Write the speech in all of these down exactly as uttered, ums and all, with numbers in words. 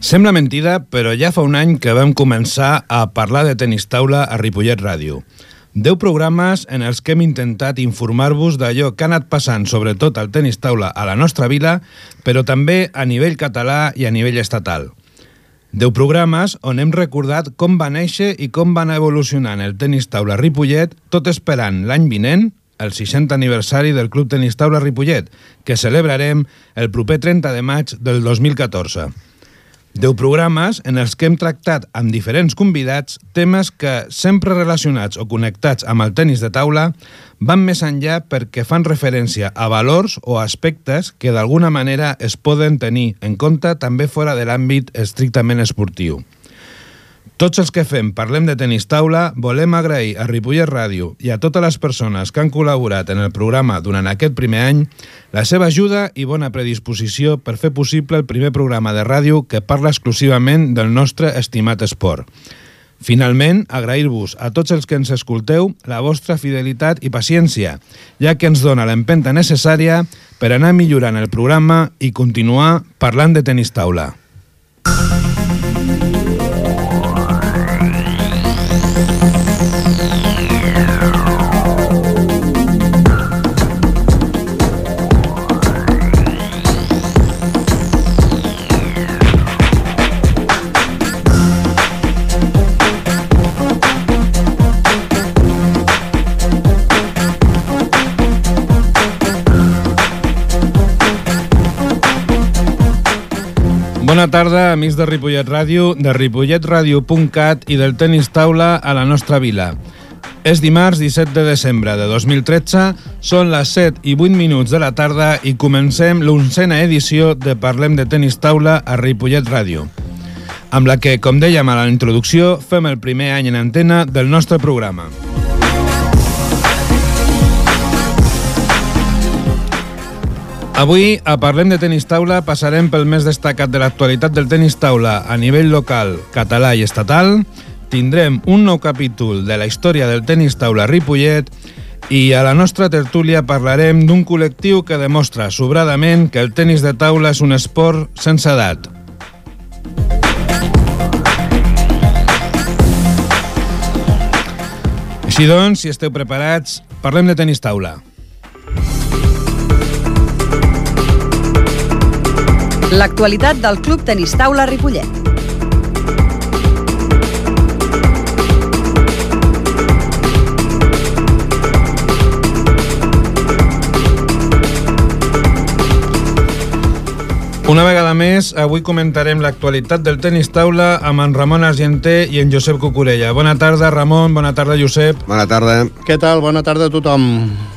Sembla mentida, però ja fa un any que vam començar a parlar de tenis taula a Ripollet Ràdio. Deu programes en els que hem intentat informar-vos d'allò que ha anat passant, sobretot al tenis taula a la nostra vila, però també a nivell català i a nivell estatal. Deu programes on hem recordat com va néixer i com va anar evolucionant el tenis taula a Ripollet, tot esperant l'any vinent, el seixantè aniversari del Club Tenis Taula Ripollet, que celebrarem el proper trenta de maig del dos mil catorze. Deu programes en els que hem tractat amb diferents convidats temes que, sempre relacionats o connectats amb el tenis de taula, van més enllà perquè fan referència a valors o aspectes que d'alguna manera es poden tenir en compte també fora de l'àmbit estrictament esportiu. Tots els que fem Parlem de Tenis Taula volem agrair a Ripollet Ràdio i a totes les persones que han col·laborat en el programa durant aquest primer any la seva ajuda i bona predisposició per fer possible el primer programa de ràdio que parla exclusivament del nostre estimat esport. Finalment, agrair-vos a tots els que ens escolteu la vostra fidelitat i paciència, ja que ens dona l'empenta necessària per anar millorant el programa i continuar parlant de tenis taula. Bona tarda, amics de Ripollet Ràdio, de ripollet ràdio punt cat i del tenis taula a la nostra vila. És dimarts disset de desembre de dos mil tretze, són les set i vuit minuts de la tarda i comencem l'onzena edició de Parlem de Tenis Taula a Ripollet Ràdio, amb la que, com dèiem a la introducció, fem el primer any en antena del nostre programa. Avui, a Parlem de Tenis Taula, passarem pel més destacat de l'actualitat del tenis taula a nivell local, català i estatal, tindrem un nou capítol de la història del tenis taula a Ripollet i a la nostra tertúlia parlarem d'un col·lectiu que demostra sobradament que el tenis de taula és un esport sense edat. Així doncs, si esteu preparats, parlem de tenis taula. L'actualitat del Club Tenis Taula Ripollet. Una vegada més, avui comentarem l'actualitat del tenis taula amb en Ramon Argenter i en Josep Cucurella. Bona tarda, Ramon. Bona tarda, Josep. Bona tarda. Què tal? Bona tarda a tothom.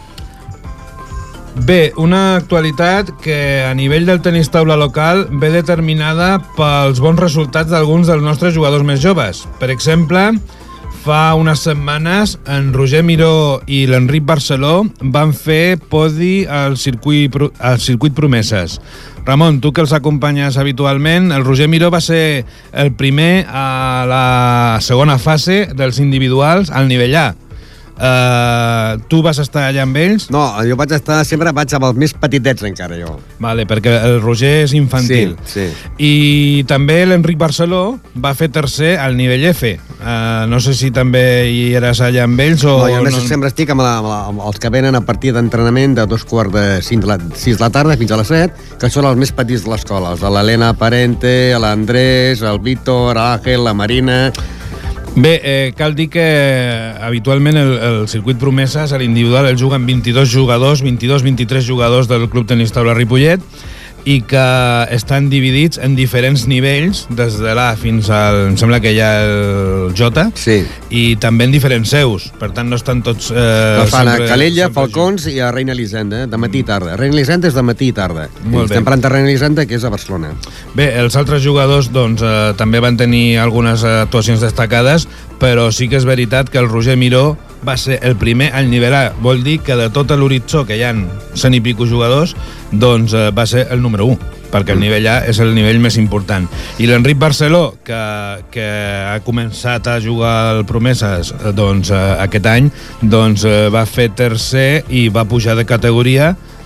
Bé, una actualitat que a nivell del tenis taula local ve determinada pels bons resultats d'alguns dels nostres jugadors més joves. Per exemple, fa unes setmanes en Roger Miró i l'Enric Barceló van fer podi al circuit, al circuit Promeses. Ramon, tu que els acompanyes habitualment, el Roger Miró va ser el primer a la segona fase dels individuals al nivell A. Uh, tu vas estar allà amb ells? No, jo vaig estar, sempre vaig amb els més petitets encara, jo. Vale, perquè el Roger és infantil. Sí, sí. I també l'Enric Barceló va fer tercer al nivell F. Uh, no sé si també hi eres allà amb ells o... No, jo no... sempre estic amb, la, amb, la, amb els que venen a partir d'entrenament de dos quarts de cinc de la, sis de la tarda fins a les set, que són els més petits de l'escola. L'Helena Parente, l'Andrés, el Víctor, l'Àngel, la Marina... Bé, eh, cal dir que habitualment el, el circuit Promeses, a l'individual, el juguen vint-i-dos jugadors, vint-i-dos vint-i-tres jugadors del Club Tenis Taula Ripollet, i que estan dividits en diferents nivells, des de l'A fins al... em sembla que hi ha el J, sí. I també en diferents seus, per tant no estan tots... Eh, no fan sempre, a Calella, Falcons i a Reina Elisenda, de matí i tarda. Reina Elisenda és de matí i tarda. Molt bé. Estem parlant de Reina Elisenda, que és a Barcelona. Bé, els altres jugadors doncs, eh, també van tenir algunes actuacions destacades, però sí que és veritat que el Roger Miró va ser el primer al nivell A. Vol dir que de tot l'horitzó, que hi ha cent i pico jugadors, doncs eh, va ser el número u, perquè el nivell A és el nivell més important. I l'Enric Barceló, que, que ha començat a jugar al Promeses doncs, eh, aquest any, doncs, eh, va fer tercer i va pujar de categoria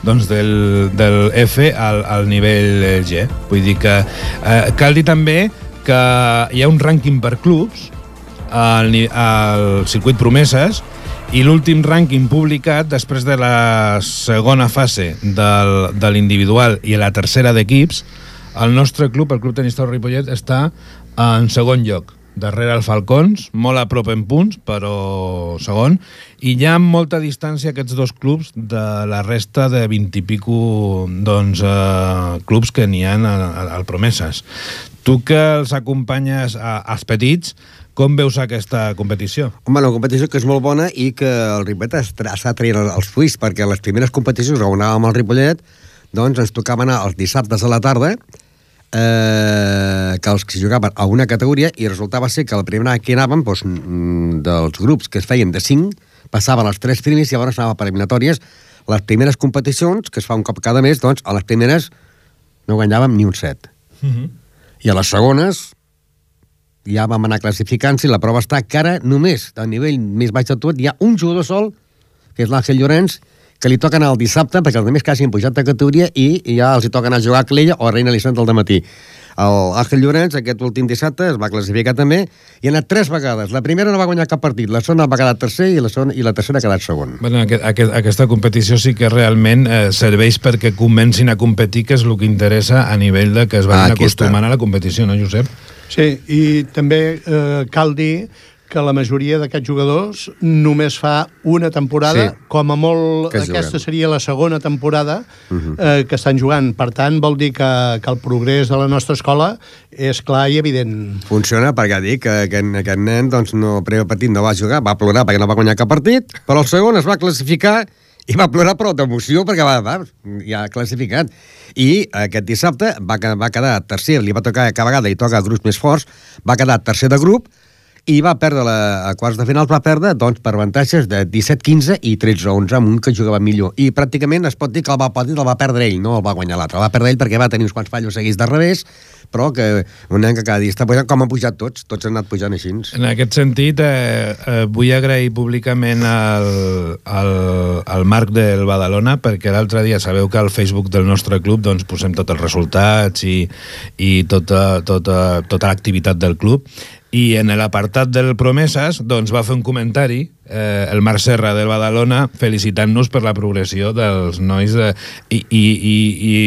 doncs del, del F al, al nivell G. Vull dir que eh, cal dir també que hi ha un rànquing per clubs al, al circuit Promeses, i l'últim rànquing publicat després de la segona fase del, de l'individual i la tercera d'equips, el nostre club, el Club Tenis Taula Ripollet, està en segon lloc, darrere el Falcons, molt a prop en punts, però segon, i hi ha molta distància aquests dos clubs de la resta de vint i pico doncs, eh, clubs que n'hi ha al, al Promeses. Tu que els acompanyes a, als petits, com veus aquesta competició? Home, una competició que és molt bona i que el Ripollet està traient els fruits, perquè les primeres competicions on anàvem al Ripollet, doncs ens tocava anar els dissabtes a la tarda, eh, que els que jugaven a una categoria, i resultava ser que la primera que anàvem, doncs, dels grups que es feien de cinc, passaven els tres primers i llavors anava per eliminatòries. Les primeres competicions, que es fa un cop cada mes, doncs, a les primeres no guanyàvem ni un set. Uh-huh. I a les segones ja vam anar classificant-se, i la prova està que ara només, a nivell més baix de tot, hi ha un jugador sol, que és l'Àngel Llorenç, que li toca anar el dissabte, perquè els altres quasi han pujat de categoria, i ja els hi toca anar a jugar a Clella o a Reina Elisenda al dematí. L'Àngel Llorenç, aquest últim dissabte, es va classificar també, i ha anat tres vegades. La primera no va guanyar cap partit, la segona va quedar tercer, i la, segona, i la tercera ha quedat segon. Bueno, aquest, aquest, aquesta competició sí que realment eh, serveix perquè comencin a competir, que és el que interessa a nivell de que es vagin ah, acostumant a la competició, no, Josep? Sí, i també eh, cal dir que la majoria d'aquests jugadors només fa una temporada, sí, com a molt aquesta seria la segona temporada uh-huh. eh, que estan jugant. Per tant, vol dir que, que el progrés de la nostra escola és clar i evident. Funciona perquè dic que aquest, aquest nen doncs, no, el primer partit no va jugar, va plorar perquè no va guanyar cap partit, però el segon es va classificar i va plorar però d'emoció perquè va, va, ja ha classificat. I aquest dissabte va, va quedar tercer, li va tocar cada vegada i toca grups més forts, va quedar tercer de grup, i va perdre la, a quarts de final va perdre doncs, per avantatges de disset quinze i tretze onze amb un que jugava millor, i pràcticament es pot dir que el va, pot dir, el va perdre ell, no el va guanyar l'altre, el va perdre ell perquè va tenir uns quants fallos seguits de revés, però que un nen que cada dia està pujant, com han pujat tots, tots han anat pujant així. En aquest sentit, eh, eh, vull agrair públicament al, al, al Marc del Badalona, perquè l'altre dia sabeu que al Facebook del nostre club doncs, posem tots els resultats i, i tota, tota, tota l'activitat del club, i en l'apartat del Promeses doncs, va fer un comentari, eh, el Marc Serra del Badalona, felicitant-nos per la progressió dels nois de... I, i, i,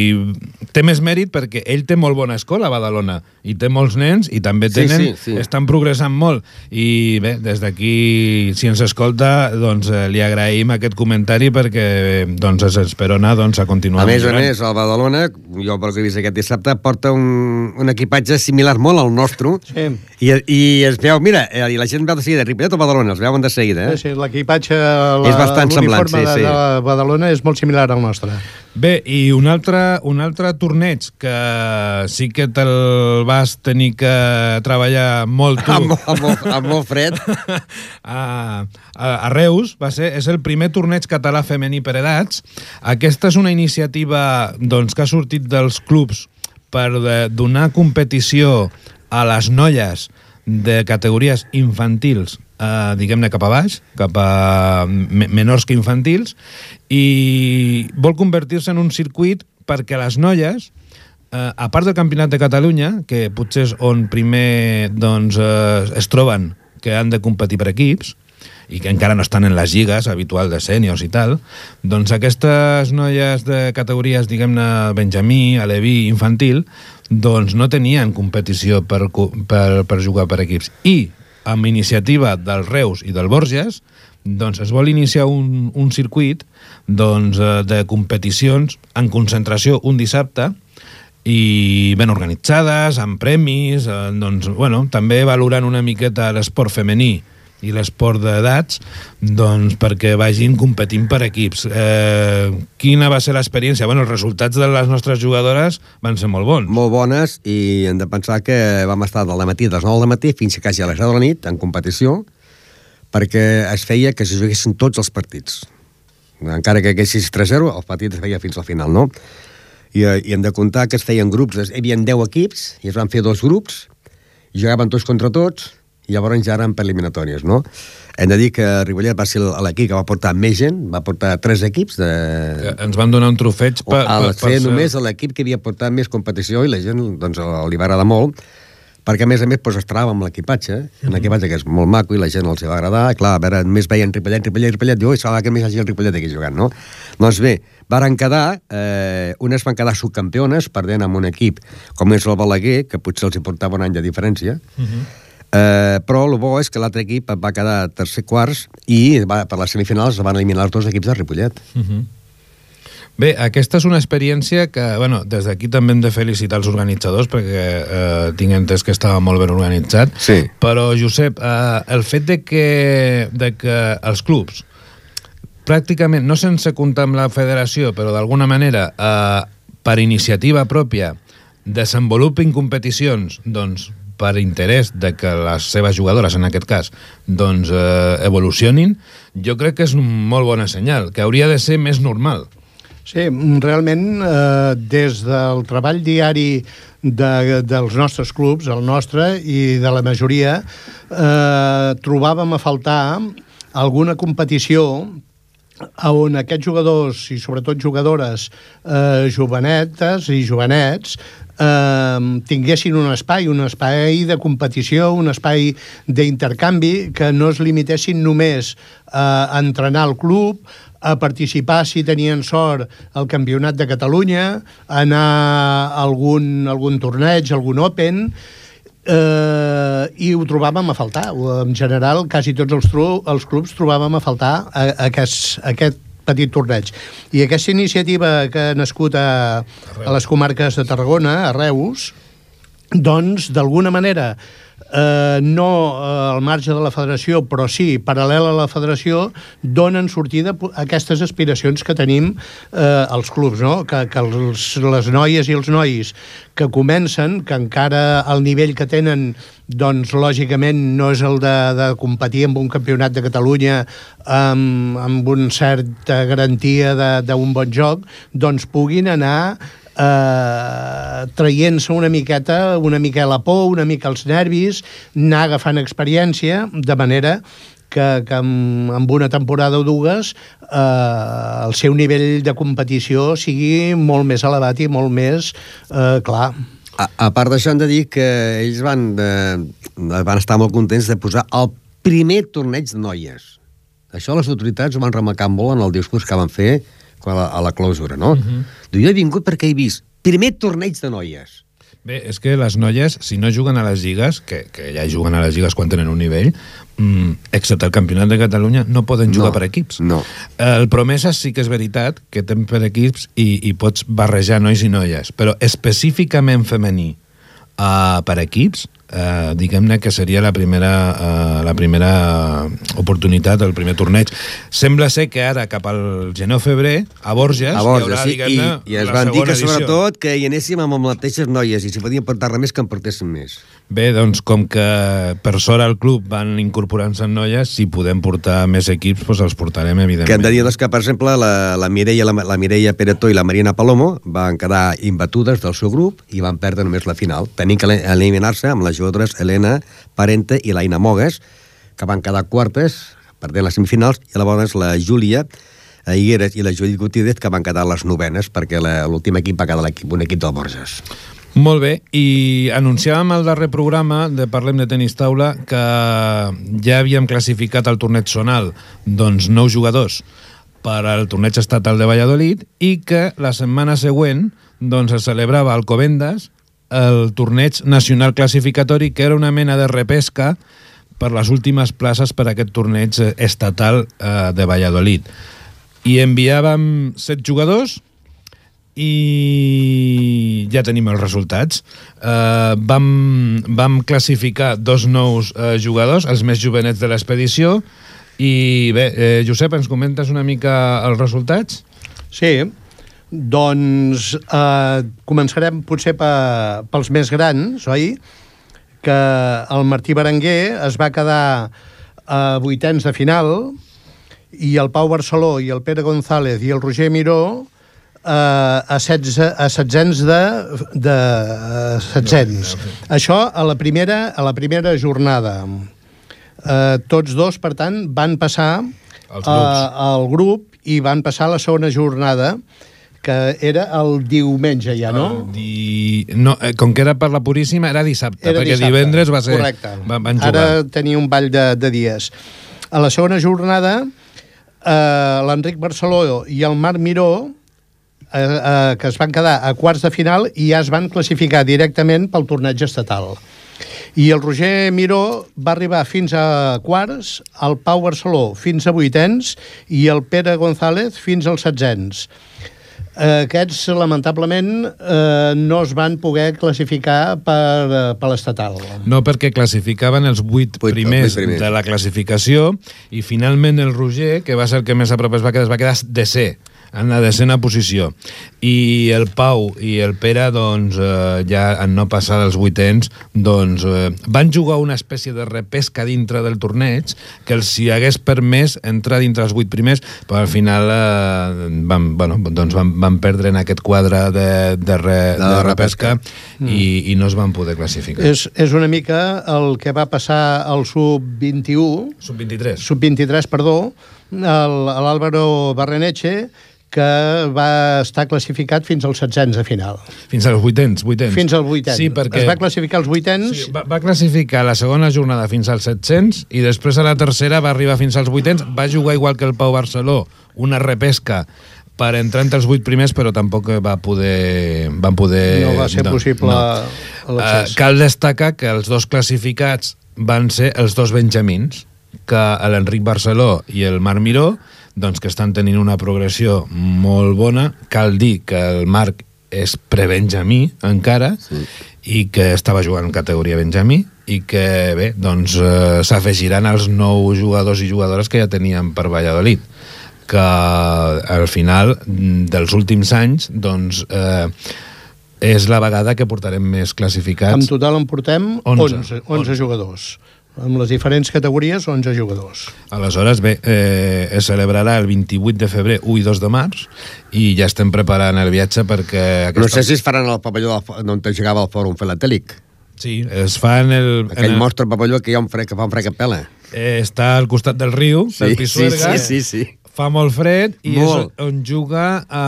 i té més mèrit perquè ell té molt bona escola a Badalona i té molts nens i també tenen, sí, sí, sí. estan progressant molt, i bé, des d'aquí si ens escolta, doncs eh, li agraïm aquest comentari perquè doncs es esperona doncs, a continuar. A més a més, el Badalona, jo pel que he vist aquest dissabte, porta un, un equipatge similar molt al nostre, sí. i, i es veu, mira, i la gent veu de seguida, Ripollet o Badalona, els veuen de seguida, eh? Sí, sí, l'equipatge, és bastant semblant, sí, de, sí. de Badalona és molt similar al nostre. Bé, i un altre, un altre torneig que sí que te'l vas tenir que treballar molt tu. Amb, amb, molt, amb molt fred. a, a, a Reus, va ser, és el primer torneig català femení per edats. Aquesta és una iniciativa doncs, que ha sortit dels clubs per de, donar competició a les noies de categories infantils, eh, diguem-ne cap a baix, cap a menors que infantils, i vol convertir-se en un circuit perquè les noies, eh, a part del Campionat de Catalunya, que potser és on primer doncs, eh, es troben que han de competir per equips, i que encara no estan en les lligues habituals de sèniors i tal, doncs aquestes noies de categories, diguem-ne, Benjamí, Aleví, infantil, doncs no tenien competició per, per, per jugar per equips. I amb iniciativa del Reus i del Borges, doncs es vol iniciar un, un circuit doncs, de competicions en concentració un dissabte i ben organitzades, amb premis, eh, doncs, bueno, també valorant una miqueta l'esport femení i l'esport d'edats, doncs perquè vagin competint per equips. Eh, quina va ser l'experiència? Bueno, els resultats de les nostres jugadores van ser molt bons. Molt bones, i hem de pensar que vam estar del matí a les nou del matí fins a quasi a les deu de la nit en competició, perquè es feia que se juguessin tots els partits. Encara que haguessis tres zero, el partit es feia fins al final, no? I, i hem de comptar que es feien grups, hi havia deu equips, i es van fer dos grups, i jugaven tots contra tots, i llavors ja eren per eliminatòries, no? Hem de dir que Ripollet va ser l'equip que va portar més gent, va portar tres equips. De... Ens van donar un trofeig per... Al ser només l'equip que havia portat més competició i la gent doncs, li va agradar molt, perquè a més a més doncs, es trobava amb l'equipatge, un equipatge que és molt maco i la gent els va agradar, i clar, a veure, només veien Ripollet, Ripollet, Ripollet, diu, oi, s'ha que més hagi el Ripollet aquí jugant, no? Doncs bé, varen quedar, eh, unes van quedar subcampiones, perdent amb un equip com és el Balaguer, que potser els hi portava un any de diferència, uh -huh. eh, però el bo és que l'altre equip va quedar tercer quarts i va, per les semifinals van eliminar els dos equips de Ripollet. Uh -huh. Bé, aquesta és una experiència que, bueno, des d'aquí també hem de felicitar els organitzadors perquè eh, tinc entès que estava molt ben organitzat, sí. Però, Josep, eh, el fet de que, de que els clubs pràcticament, no sense comptar amb la federació, però d'alguna manera, eh, per iniciativa pròpia, desenvolupin competicions, doncs, per interès de que les seves jugadores, en aquest cas, doncs, eh, evolucionin, jo crec que és un molt bona senyal, que hauria de ser més normal. Sí, realment, eh, des del treball diari de, dels nostres clubs, el nostre i de la majoria, eh, trobàvem a faltar alguna competició on aquests jugadors, i sobretot jugadores eh, jovenetes i jovenets, eh, tinguessin un espai, un espai de competició, un espai d'intercanvi, que no es limitessin només a entrenar al club, a participar, si tenien sort, al Campionat de Catalunya, a anar a algun, algun torneig, algun Open, eh, i ho trobàvem a faltar. En general, quasi tots els, tru, els clubs trobàvem a faltar a, a aquest, a aquest petit torneig. I aquesta iniciativa que ha nascut a, a les comarques de Tarragona, a Reus, doncs, d'alguna manera, eh, no eh, al marge de la federació, però sí, paral·lel a la federació, donen sortida a aquestes aspiracions que tenim eh, els clubs, no? Que, que els, les noies i els nois que comencen, que encara el nivell que tenen, doncs, lògicament, no és el de, de competir amb un campionat de Catalunya amb, amb una certa garantia d'un bon joc, doncs puguin anar Uh, traient-se una miqueta, una mica la por, una mica els nervis, anar agafant experiència, de manera que, que amb, amb una temporada o dues uh, el seu nivell de competició sigui molt més elevat i molt més uh, clar. A, a part d'això, hem de dir que ells van, de, van estar molt contents de posar el primer torneig de noies. Això les autoritats ho van remarcar molt en el discurs que van fer a la, a la clausura, no? Uh -huh. Diu, jo he vingut perquè he vist primer torneig de noies. Bé, és que les noies, si no juguen a les lligues, que, que ja juguen a les lligues quan tenen un nivell, mmm, excepte el Campionat de Catalunya, no poden jugar no, per equips. No. El Promeses sí que és veritat que ten per equips i, i pots barrejar nois i noies, però específicament femení uh, per equips, Uh, diguem-ne que seria la primera, uh, la primera oportunitat, el primer torneig. Sembla ser que ara, cap al gener-febrer, a Borges, a Borges, hi haurà, sí, diguem-ne, i, i es van dir que, edició. Sobretot, que hi anéssim amb les mateixes noies, i si podien portar més, que en portessin més. Bé, doncs, com que per sort al club van incorporant-se noies, si podem portar més equips, doncs els portarem, evidentment. Que hem de dir doncs, que, per exemple, la, la Mireia la, la Mireia Peretó i la Marina Palomo van quedar imbatudes del seu grup i van perdre només la final. Tenint que eliminar-se amb les jugadores Helena Parente i l'Aina Mogues, que van quedar quartes, perdent les semifinals, i llavors la Júlia Higueras i la Judit Gutiérrez, que van quedar les novenes, perquè l'últim equip va quedar l'equip, un equip del Borges. Molt bé, i anunciàvem al darrer programa de Parlem de Tenis Taula que ja havíem classificat al torneig zonal doncs nou jugadors per al torneig estatal de Valladolid i que la setmana següent doncs es celebrava a Alcobendas el torneig nacional classificatori, que era una mena de repesca per les últimes places per a aquest torneig estatal eh, de Valladolid. I enviàvem set jugadors i ja tenim els resultats. Eh, vam, vam classificar dos nous eh, jugadors, els més jovenets de l'expedició, i bé, eh, Josep, ens comentes una mica els resultats? Sí. Doncs eh, començarem potser pe, pels més grans, oi? Que el Martí Berenguer es va quedar a vuitens de final i el Pau Barceló i el Pere González i el Roger Miró eh, a, setze, a setzents de, de setzents. Això a la primera, a la primera jornada. Eh, tots dos, per tant, van passar uh, al grup i van passar a la segona jornada, que era el diumenge ja, no? Di... no eh, com que era per la Puríssima, era dissabte, era perquè dissabte. Divendres va ser... Correcte. Va, van jugar. Ara tenia un ball de, de dies. A la segona jornada, eh, l'Enric Barceló i el Marc Miró, eh, eh, que es van quedar a quarts de final i ja es van classificar directament pel torneig estatal. I el Roger Miró va arribar fins a quarts, el Pau Barceló fins a vuitens i el Pere González fins als setzents. Eh, aquests, lamentablement, eh, no es van poder classificar per, per l'estatal. No, perquè classificaven els vuit primers, primers de la classificació i finalment el Roger, que va ser el que més a prop es va quedar, es va quedar desè, en la desena posició. I el Pau i el Pere, doncs, eh, ja en no passar dels vuitens, doncs, eh, van jugar una espècie de repesca dintre del torneig que els hi hagués permès entrar dintre els vuit primers, però al final eh, van, bueno, doncs van, van perdre en aquest quadre de, de, re, de, de repesca, repesca. I, i no es van poder classificar. És, és una mica el que va passar al sub vint-i-u... sub vint-i-tres. sub vint-i-tres, perdó, l'Àlvaro Barreneche, que va estar classificat fins als setzents a final. Fins als vuitens, vuitens. Fins als vuitens. Sí, perquè... Es va classificar als vuitens... Sí, va, va classificar la segona jornada fins als set-cents i després a la tercera va arribar fins als vuitens. Va jugar igual que el Pau Barceló, una repesca per entrar entre els vuit primers, però tampoc va poder... Van poder no va ser no, possible no. l'accés. Uh, cal destacar que els dos classificats van ser els dos benjamins, que l'Enric Barceló i el Marc Miró, doncs que estan tenint una progressió molt bona. Cal dir que el Marc és prebenjamí encara, sí. I que estava jugant en categoria benjamí i que, bé, doncs eh, s'afegiran els nous jugadors i jugadores que ja teníem per Valladolid, que al final dels últims anys, doncs, eh, és la vegada que portarem més classificats. En total en portem onze, onze jugadors. Amb les diferents categories, onze jugadors. Aleshores, bé, eh, es celebrarà el vint-i-vuit de febrer, u i dos de març, i ja estem preparant el viatge perquè... Aquesta... No sé si es faran al pavelló on jugava el Fòrum Filatèlic. Sí, es fa en el... Aquell en el... mostre pavelló que hi ha un fred, que fa un fred que pela. Eh, està al costat del riu, sí, del Pisuerga. Sí, sí, sí, sí. Fa molt fred i molt. És on juga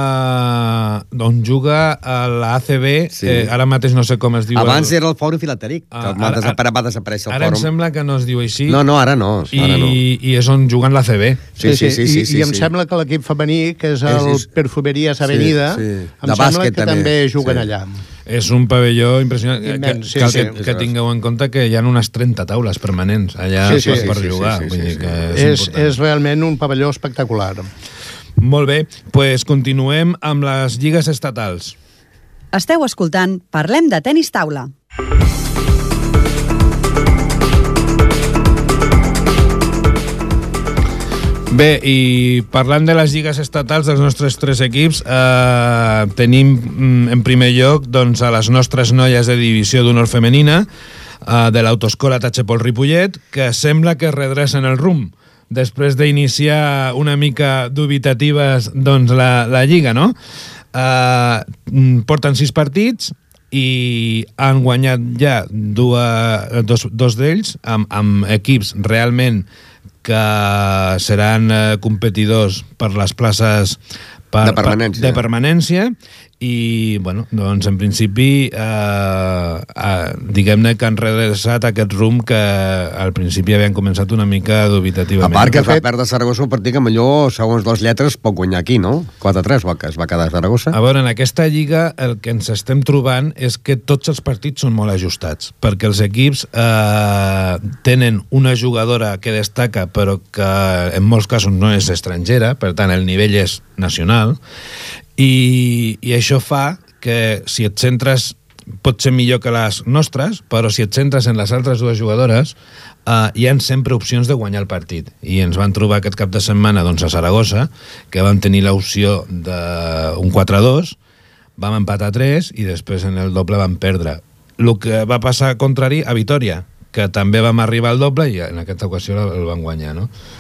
uh, on juga a l'A C B, sí. eh, ara mateix no sé com es diu. Abans el... era el Fòrum Filatèlic, que uh, ara, ara, va desaparèixer el ara Fòrum. Ara em sembla que no es diu així. No, no, ara no. I, ara no. I és on juguen l'A C B. Sí, sí, sí. sí, sí, I, sí, i em sí. sembla que l'equip femení, que és el sí, sí. Perfumerías Avenida, sí, sí. em de sembla que també, també juguen sí. allà. És un pavelló impressionant. Immens, que, sí, cal sí, que, sí. que tingueu en compte que hi ha unes trenta taules permanents allà sí, sí, per sí, jugar. Sí, sí, sí, Vull dir que és, és, és realment un pavelló espectacular. Molt bé, doncs pues continuem amb les lligues estatals. Esteu escoltant Parlem de Tenis Taula. Bé, i parlant de les lligues estatals dels nostres tres equips, eh, tenim en primer lloc doncs, a les nostres noies de divisió d'honor femenina eh, de l'Autoescola Tachepol Ripollet, que sembla que redrecen el rumb després d'iniciar una mica dubitatives doncs, la, la lliga, no? Eh, porten sis partits i han guanyat ja dues, dos, dos d'ells amb, amb equips realment que seran eh, competidors per les places per, de permanència. Per, de permanència i, bueno, doncs en principi eh, eh, diguem-ne que han redreçat aquest rumb que al principi havien començat una mica dubitativament. A part que fa perdre Saragossa un partit que millor, segons les lletres, pot guanyar aquí, no? quatre a tres es va quedar Saragossa. A veure, en aquesta lliga el que ens estem trobant és que tots els partits són molt ajustats, perquè els equips eh, tenen una jugadora que destaca però que en molts casos no és estrangera, per tant el nivell és nacional, i, i això fa que si et centres pot ser millor que les nostres, però si et centres en les altres dues jugadores eh, hi ha sempre opcions de guanyar el partit, i ens van trobar aquest cap de setmana doncs, a Saragossa, que vam tenir l'opció d'un quatre a dos, vam empatar a tres i després en el doble vam perdre. El que va passar contrari a Vitòria, que també vam arribar al doble i en aquesta ocasió el van guanyar, no?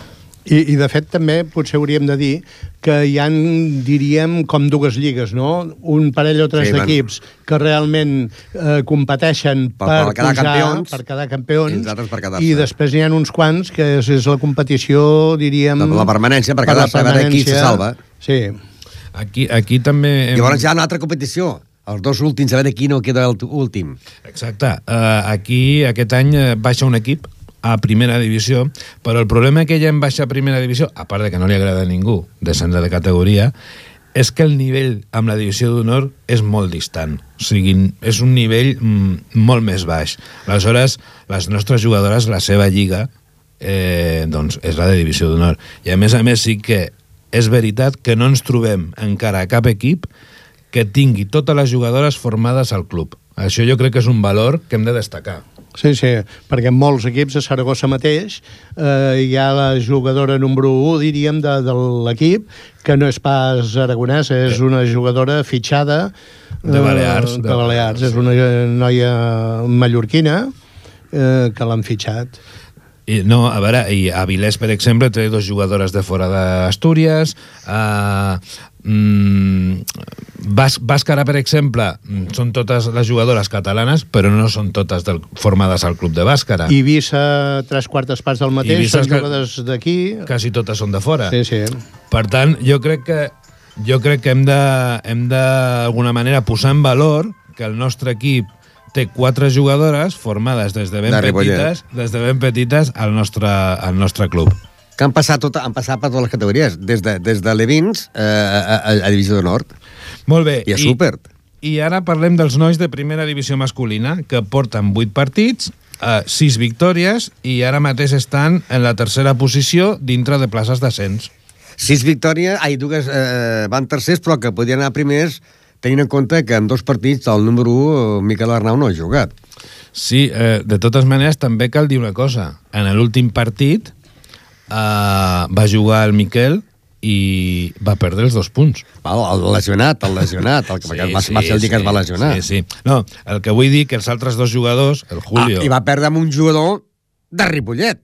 I, I, de fet, també potser hauríem de dir que hi ha, diríem, com dues lligues, no? Un parell o tres sí, d'equips van... que realment eh, competeixen per, per, per quedar pujar, campions, per quedar campions, i, per i després n'hi ha uns quants que és, és la competició, diríem... La, la permanència, per, per quedar, per veure qui se salva. Sí. Aquí, aquí també... Hem... Llavors hi ha una altra competició. Els dos últims, a veure qui no queda l'últim. Exacte. Uh, aquí, aquest any, baixa un equip a primera divisió, però el problema que hi ha en baixa primera divisió, a part de que no li agrada a ningú descendre de categoria, és que el nivell amb la divisió d'honor és molt distant. O sigui, és un nivell mm, molt més baix. Aleshores, les nostres jugadores, la seva lliga, eh, doncs és la de divisió d'honor. I a més a més sí que és veritat que no ens trobem encara cap equip que tingui totes les jugadores formades al club. Això jo crec que és un valor que hem de destacar. Sí, sí, perquè en molts equips a Saragossa mateix eh, hi ha la jugadora número u, diríem, de, de l'equip, que no és pas aragonesa, és sí. una jugadora fitxada de Balears. Eh, de Balears, és una noia mallorquina eh, que l'han fitxat. I, no, a veure, i Avilés, per exemple, té dos jugadores de fora d'Astúries, uh, mm, Bas, Bàscara, per exemple, són totes les jugadores catalanes, però no són totes del, formades al club de Bàscara. Eivissa, tres quartes parts del mateix, són jugadores d'aquí. Quasi totes són de fora. Sí, sí. Per tant, jo crec que jo crec que hem de, hem de d'alguna manera, posar en valor que el nostre equip té quatre jugadores formades des de ben de petites, des de ben petites al nostre, al nostre club. Que han passat, tot, han passat per totes les categories, des de, des de Levins eh, a, a, a Divisió de Nord. Molt bé. I a Súper. I, I ara parlem dels nois de primera divisió masculina, que porten vuit partits, eh, sis victòries, i ara mateix estan en la tercera posició dintre de places d'ascens. Sis victòries, ai, dues eh, van tercers, però que podien anar primers, tenint en compte que en dos partits el número u, Miquel Arnau, no ha jugat. Sí, eh, de totes maneres, també cal dir una cosa. En l'últim partit eh, va jugar el Miquel i va perdre els dos punts. El, el lesionat, el lesionat, el que sí, va, sí, va ser el dia sí, que es va lesionar. Sí, sí. No, el que vull dir que els altres dos jugadors, el Julio... Ah, i va perdre amb un jugador de Ripollet.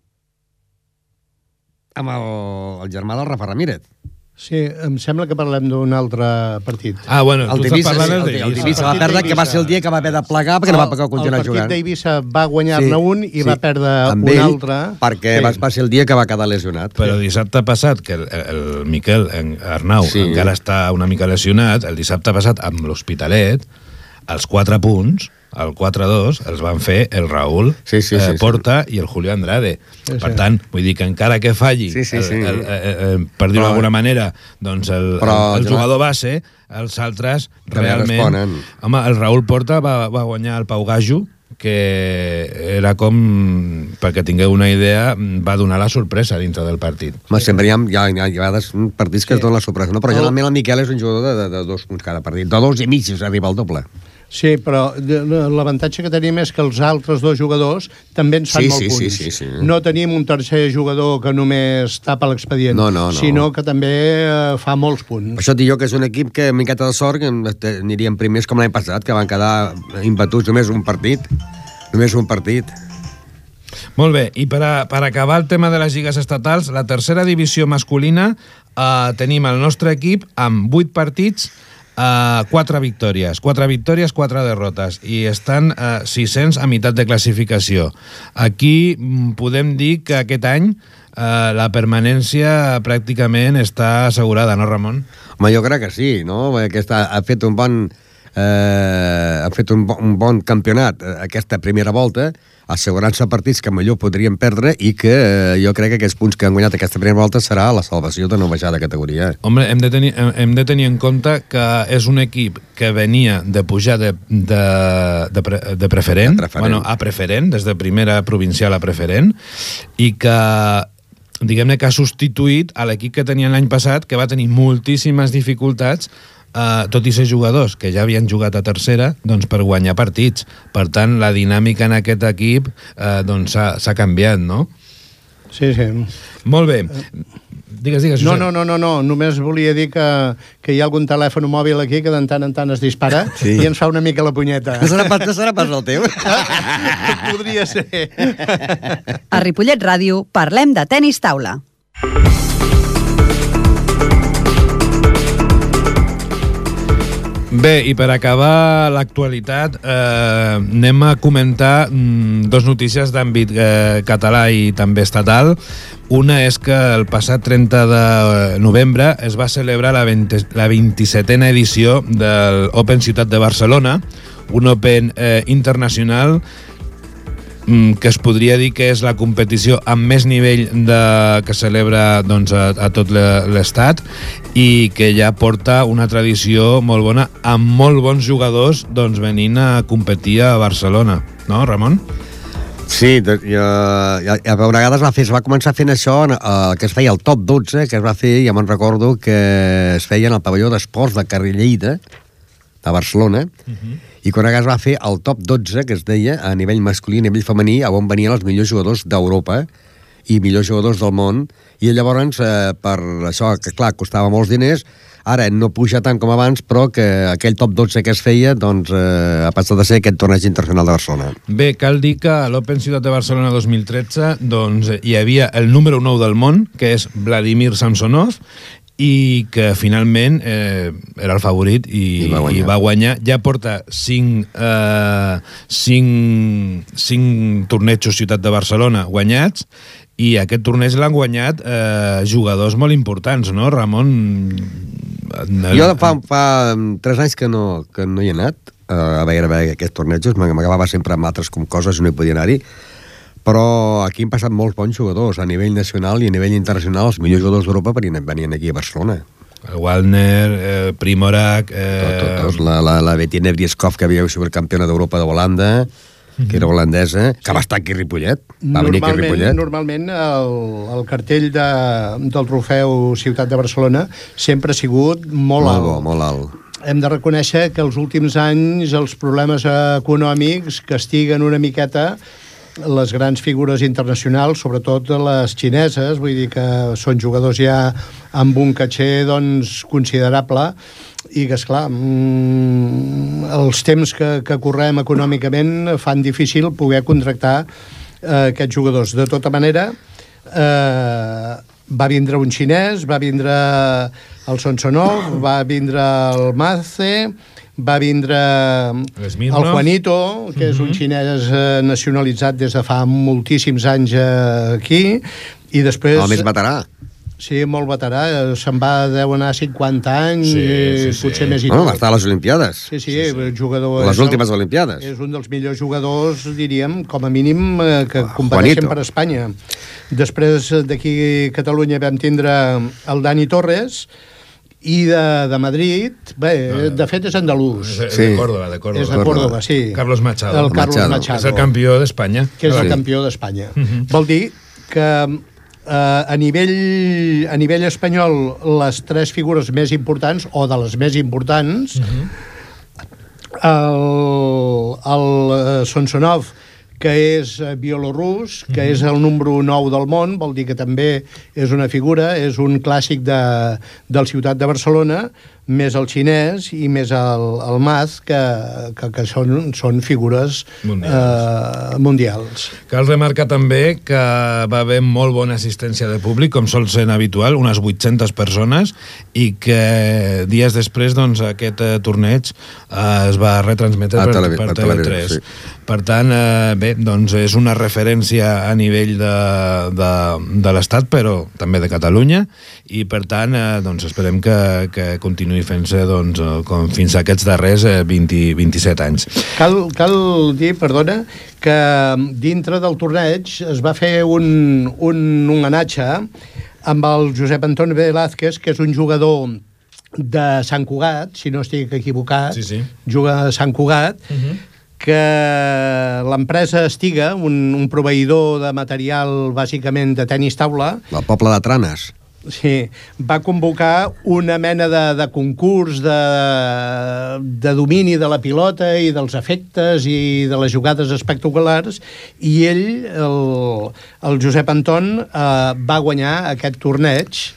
Amb el, el germà del Rafa Ramírez. Sí, em sembla que parlem d'un altre partit. Ah, bueno, el tu Divisa, estàs parlant sí, el Divisa va perdre, que va ser el dia que va haver de plegar perquè el, no va poder continuar jugant. El partit d'Eivissa va guanyar-ne sí, un i sí, va perdre un ell, altre. Perquè sí. va, va ser el dia que va quedar lesionat. Però dissabte passat, que el, el Miquel en Arnau sí. encara està una mica lesionat, el dissabte passat amb l'Hospitalet, els quatre punts, el quatre a dos, els van fer el Raül sí, sí, eh, sí, Porta sí. i el Julio Andrade. Sí, per sí. tant, vull dir que encara que falli, sí, sí, sí. El, el, el, el, per dir-ho d'alguna manera, doncs el, Però, el, el jugador base, els altres realment... Responen. Home, el Raül Porta va, va guanyar el Pau Gajo, que era com, perquè tingueu una idea, va donar la sorpresa dintre del partit. Home, sempre hi ha, hi ha, hi ha, hi ha partits que sí. es donen la sorpresa, no? Però generalment el Miquel és un jugador de, de, de dos punts cada partit, de dos i mig si arriba al doble. Sí, però l'avantatge que tenim és que els altres dos jugadors també ens fan sí, molt sí, punts. Sí, sí, sí. No tenim un tercer jugador que només tapa l'expedient, no, no, no. sinó que també eh, fa molts punts. Això dic jo que és un equip que, amb miqueta de sort, que aniríem primers com l'any passat, que van quedar imbatuts només un partit. Només un partit. Molt bé, i per, a, per acabar el tema de les lligues estatals, la tercera divisió masculina eh, tenim el nostre equip amb vuit partits, Uh, quatre victòries, quatre victòries, quatre derrotes, i estan uh, sis-cents a meitat de classificació. Aquí mm, podem dir que aquest any uh, la permanència pràcticament està assegurada, no, Ramon? Home, jo crec que sí, no? Aquesta, ha fet un bon eh, ha fet un bon, un bon campionat aquesta primera volta, assegurant-se partits que millor podrien perdre i que eh, jo crec que aquests punts que han guanyat aquesta primera volta serà la salvació de no baixar de categoria. Home, hem de tenir, hem de tenir en compte que és un equip que venia de pujar de, de, de, pre, de preferent, de preferent. Bueno, a preferent, des de primera provincial a preferent, i que diguem-ne que ha substituït a l'equip que tenia l'any passat, que va tenir moltíssimes dificultats, Uh, tot i ser jugadors que ja havien jugat a tercera, doncs per guanyar partits. Per tant, la dinàmica en aquest equip uh, doncs s'ha canviat, no? Sí, sí. Molt bé. Digues, digues, no, no, no, no, no, només volia dir que, que hi ha algun telèfon mòbil aquí que de tant en tant es dispara sí. i ens fa una mica la punyeta. No serà pas, no serà pas el teu? Podria ser. A Ripollet Ràdio parlem de tenis taula. Bé, i per acabar l'actualitat, eh, anem a comentar mm, dos notícies d'àmbit eh, català i també estatal. Una és que el passat trenta de novembre es va celebrar la, vint, la vint-i-setena edició del Open Ciutat de Barcelona, un Open eh, internacional que es podria dir que és la competició amb més nivell de, que celebra doncs, a, a tot l'estat i que ja porta una tradició molt bona amb molt bons jugadors doncs, venint a competir a Barcelona, no, Ramon? Sí, jo, ja, a vegades va fer, es va començar fent això, eh, que es feia el top dotze, que es va fer, ja me'n recordo, que es feia en el pavelló d'esports de Carrilleida, de Barcelona, uh-huh. I quan es va fer el top dotze, que es deia, a nivell masculí i a nivell femení, on venien els millors jugadors d'Europa i millors jugadors del món, i llavors, eh, per això, que clar, costava molts diners, ara no puja tant com abans, però que aquell top dotze que es feia, doncs, eh, ha passat a ser aquest torneig internacional de Barcelona. Bé, cal dir que a l'Open Ciutat de Barcelona dos mil tretze, doncs, hi havia el número nou del món, que és Vladimir Samsonov, i que finalment eh, era el favorit i, I, va i va guanyar. Ja porta cinc, eh, cinc, cinc tornejos Ciutat de Barcelona guanyats i aquest torneig l'han guanyat eh, jugadors molt importants, no, Ramon? Jo fa, fa tres anys que no, que no hi he anat eh, a veure, a veure aquests tornejos, m'acabava sempre amb altres com coses i no hi podia anar-hi, però aquí han passat molts bons jugadors a nivell nacional i a nivell internacional. Els millors jugadors d'Europa venien, venien aquí a Barcelona. El Waldner, eh, Primorac... Eh... Tot, tot, tot. La, la, la Bettina Brieskov, que havia sigut campiona d'Europa de Holanda, mm-hmm. que era holandesa, que va estar aquí a Ripollet. Va venir aquí a Ripollet. Normalment el, el cartell de, del trofeu Ciutat de Barcelona sempre ha sigut molt, molt alt. Bo, molt alt. Hem de reconèixer que els últims anys els problemes econòmics castiguen una miqueta les grans figures internacionals, sobretot les xineses, vull dir que són jugadors ja amb un caché doncs, considerable i que, esclar, mmm, els temps que, que correm econòmicament fan difícil poder contractar eh, aquests jugadors. De tota manera, eh, va vindre un xinès, va vindre el Sonsonov, va vindre el Mace, va vindre el Juanito, que és un xinès nacionalitzat des de fa moltíssims anys aquí, i després... El més veterà. Sí, molt veterà, se'n va, deu anar cinquanta anys, sí, sí, sí. Potser més i tot. Bueno, va estar a les Olimpiades. Sí, sí, sí, sí. Jugador... Les últimes el, Olimpiades. És un dels millors jugadors, diríem, com a mínim, que competeixen per Espanya. Després d'aquí a Catalunya vam tindre el Dani Torres, i de, de Madrid, bé, de fet és andalús. És sí. de Córdoba, de Córdoba. És de Córdoba, sí. Carlos Machado. El Carlos Machado. Machado. És el campió d'Espanya. Que és sí. el campió d'Espanya. Uh-huh. Vol dir que eh, a, nivell, a nivell espanyol les tres figures més importants, o de les més importants, uh-huh. el, el Sonsonov, que és bielorrus, que mm-hmm. és el número nou del món, vol dir que també és una figura, és un clàssic de, del Ciutat de Barcelona, més el xinès i més el, el Maz, que, que, que són, són figures mundials. Eh, mundials. Cal remarcar també que va haver molt bona assistència de públic, com sol ser habitual, unes vuit-centes persones, i que dies després doncs, aquest eh, torneig eh, es va retransmetre per, televi- per, per T V tres. Sí. Per tant, eh, bé, doncs és una referència a nivell de, de, de l'Estat, però també de Catalunya, i per tant, eh, doncs esperem que, que continuï fent-se doncs, com fins a aquests darrers eh, vint, vint-i-set anys. Cal, cal dir, perdona, que dintre del torneig es va fer un, un homenatge amb el Josep Antoni Velázquez, que és un jugador de Sant Cugat, si no estic equivocat, sí, sí. juga a Sant Cugat, uh-huh. que l'empresa Estiga, un, un proveïdor de material bàsicament de tenis taula... El poble de Tranes. Sí, va convocar una mena de, de concurs de, de domini de la pilota i dels efectes i de les jugades espectaculars, i ell, el, el Josep Anton, eh, va guanyar aquest torneig